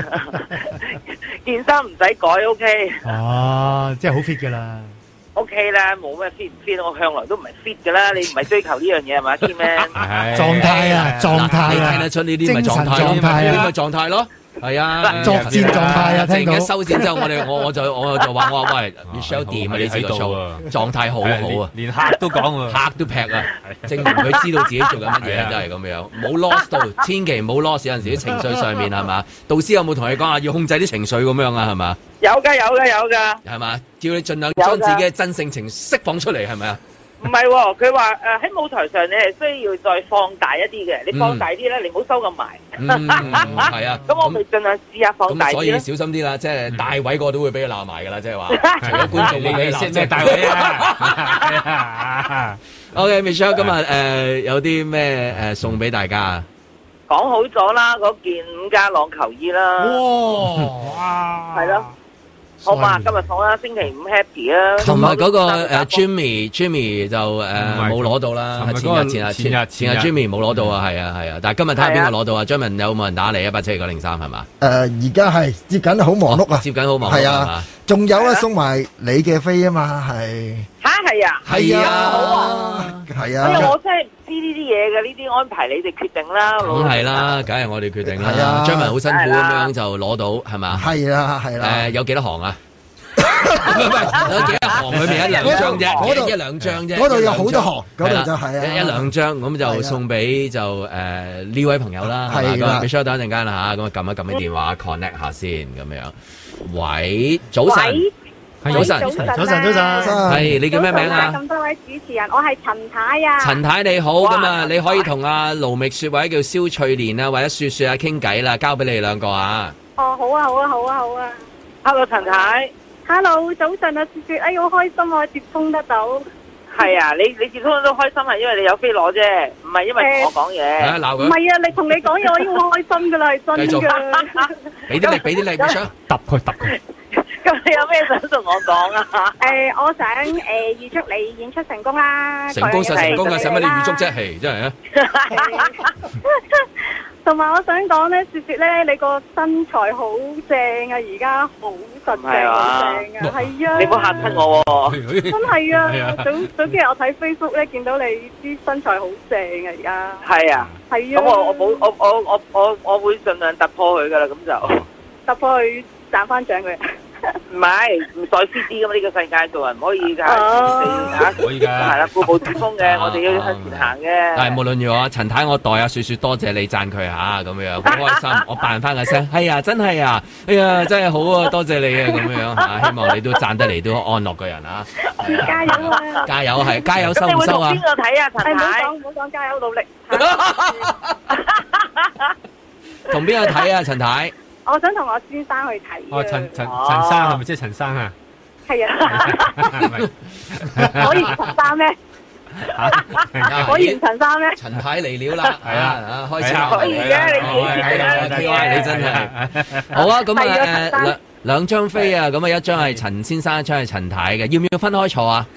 件衫唔使改 ，OK。 哦，即係好 fit 噶啦。 OK 啦，冇咩 fit 唔 fit，我向來都唔係 fit 噶啦。你唔係追求呢樣嘢係嘛 ，Keyman？ 狀態啊，狀態啊， 你聽得出呢啲咪狀態咯？呢啲咪狀態咯。係啊， 作戰狀態啊，聽到。 收線之後，我就話喂 ，Michelle 掂啊，你知道狀態好好啊， 連客都講喎， 客都劈啊，證明佢知道自己做緊乜嘢，真係咁樣，冇 lost 到，千祈唔好 lost，有陣時啲情緒上面係嘛，導師有冇同你講啊？要控制啲情緒咁樣啊，係嘛？ 有㗎，係嘛？叫你盡量將自己嘅真性情釋放出嚟，係咪啊？ 唔係喎，佢話喺舞台上你係需要再放大一啲嘅，你放大啲咧，你唔好收咁埋。 係啊， 咁我咪盡量試下放大啲。 所以小心啲啦，即係大位個都會俾佢鬧埋㗎啦，即係話除咗觀眾會俾你鬧，即係大位啊。OK，Michelle 今日有啲咩送俾大家？ 講好咗啦，嗰件伍家朗球衣啦。 哇！ 係咯。好嘛，今日送啦，星期5 happy 啊！ 同埋嗰個Jimmy 就冇攞到啦，前日 Jimmy 冇攞到啊，係啊，但係今日睇下邊個攞到啊？張文有冇人打嚟172-903係嘛？ 而家係接緊好忙碌啊， 接緊好忙碌係啊， 仲有啊送埋你嘅飛啊嘛，係嚇係啊， 係啊， 好啊， 係啊， 我真係唔知呢啲嘢嘅，呢啲安排你哋決定啦， 梗係啦，梗係我哋決定啦。張文好辛苦咁樣就攞到係嘛？ 係啦， 有幾多行啊？有幾多行？裏面1-2張啫，一兩張啫。 嗰度有好多行，嗰度就係啊 ，1-2張咁就送俾就呢位朋友啦。係嘛，Michelle等一陣間啦嚇，咁啊撳一撳啲電話 connect 下先咁樣。喂，早晨。 早晨， 早晨， 係你叫咩名啊？ 咁多位主持人，我係陳太啊。 陳太你好，咁啊，你可以同阿盧覓雪或者叫蕭翠蓮啊，或者雪雪啊傾偈啦，交俾你哋兩個啊。 哦，好啊 ，Hello 陳太 ，Hello 早晨啊，雪雪，哎好開心啊，接通得到。 係啊，你接通都開心係因為你有飛攞啫，唔係因為同我講嘢。 鬧佢。 唔係啊，你同你講嘢我已經好開心噶啦，係真噶。 俾啲力，唔想揼佢。 咁你有咩想同我講啊？ 我想預祝你演出成功啦。 成功，使乜你預祝啫？係真係啊！ 同埋我想講咧，雪雪咧，你個身材好正啊！而家好實正，好正啊！係啊！ 你唔好嚇親我喎！ 真係啊！早幾日我睇 Facebook 咧，見到你啲身材好正啊！而家係啊！係啊！咁我會盡量突破佢噶啦，咁就突破佢賺翻獎佢。 唔係唔在獅子咁，呢個世界做人唔可以㗎， 可以㗎， 係啦，固步自封嘅，我哋要向前行嘅。 但係無論如何，陳太我代阿雪雪多謝你讚佢嚇，咁樣好開心。我扮翻個聲，係啊，真係啊，哎呀，真係好啊，多謝你啊，咁樣嚇，希望你都讚得嚟都安樂個人啊。 加油啊！ 加油係加油，收唔收啊？ 邊個睇啊？陳太， 唔好講加油，努力。 同邊個睇啊？陳太？ 我想同我先生去睇。 哦，陳生係咪即係陳生啊？ 係啊。可以陳生咩？可以陳生咩？ 陳太嚟了啦，係啊，開始可以嘅， 你真係好啊！咁啊兩張飛啊，咁啊一張係陳先生，一張係陳太嘅，要唔要分開坐啊？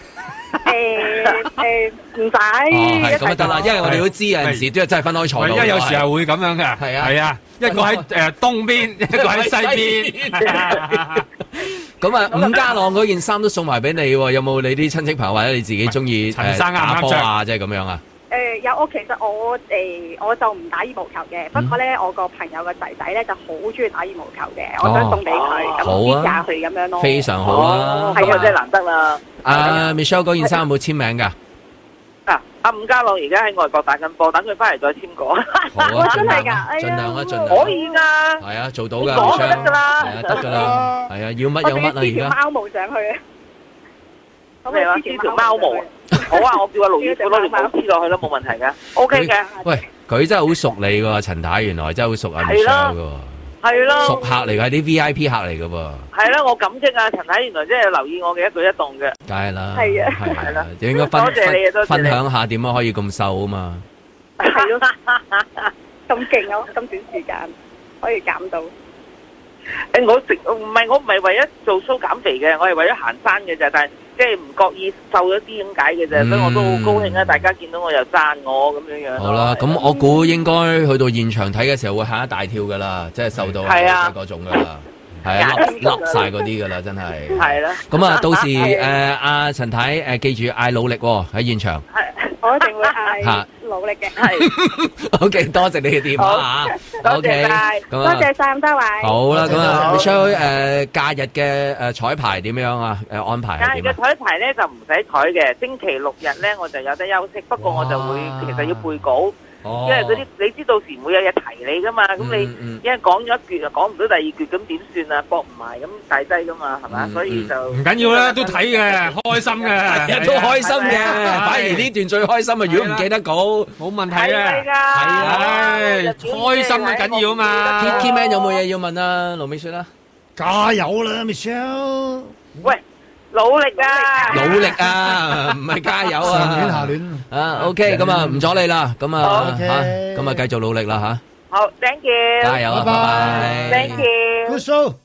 唔使。 係咁就得啦，因為我哋都知有陣時都係真係分開坐。 因為有時候會咁樣嘅，係啊，一個喺東邊，一個喺西邊。 咁啊，伍家朗嗰件衫都送埋俾你喎，有冇你啲親戚朋友或者你自己中意打波啊？即係咁樣啊？ 有其實我就唔打羽毛球嘅，不過咧我個朋友個仔仔咧就好中意打羽毛球嘅，我想送俾佢，咁支持下佢咁樣咯。 非常好啊！ 係啊，真係難得啦。 Michelle 嗰件衫有冇簽名㗎？ 阿伍家朗而家喺外國打緊波，等佢翻嚟再簽過。 好啊， 真係㗎， 盡量啊，盡量。 可以㗎。係啊，做到㗎。 講就得㗎啦。 係啊，得㗎啦。係啊，要乜有乜啊，而家。 貓毛上去啊！ 咩話？黐條貓毛。好啊，我叫阿盧姨攞條毛黐落去咯，冇問題嘅。O K 嘅。 喂，佢真係好熟你喎，陳太原來真係好熟阿 Michelle 㗎。 係咯， 熟客嚟㗎，啲 V I P 客嚟㗎噃。 係啦，我感激啊，陳太原來真係留意我嘅一舉一動嘅。 梗係啦， 係啊， 係啦， 應該多謝你啊，多謝你分享下點樣可以咁瘦啊嘛。 係咯，咁勁啊！咁短時間可以減到。 我唔係為咗做 show 減肥嘅，我係為咗行山嘅啫，但係即係唔覺意瘦咗啲咁解嘅啫，所以我都好高興啊！大家見到我又讚我咁樣樣。 好啦，咁我估應該去到現場睇嘅時候會嚇一大跳噶啦，即係瘦到係嗰種噶啦，係啊，甩晒嗰啲噶啦，真係。係啦。咁啊，到時阿陳太記住嗌努力喎喺現場。 係，我一定會嗌努力嘅。係。 OK，多謝你嘅電話嚇。 多謝晒，多謝晒咁多位。 好啦，咁啊，Michelle假日嘅彩排點樣啊？安排係點啊？ 假日嘅彩排咧就唔使彩嘅，星期六日咧我就有得休息，不過我就會其實要背稿。因為嗰啲你知到時唔會有嘢提你噶嘛，咁你因為講咗一橛又講唔到第二橛，咁點算啊？搏唔埋咁大劑噶嘛，係嘛？所以就唔緊要啦，都睇嘅，開心嘅， 都開心嘅。反而呢段最開心啊！如果唔記得稿，冇問題嘅。係啊，開心啊緊要啊嘛。 Key Man 有冇嘢要問啊？盧美雪啦， 加油啦 Michelle！ 喂。努力啊！ 努力啊，唔係加油啊！ 上年下年啊 ，OK，咁啊唔阻你啦，咁啊嚇，咁啊繼續努力啦嚇。 好 ，Thank you， 加油啊，拜拜 ，Thank you，Good show。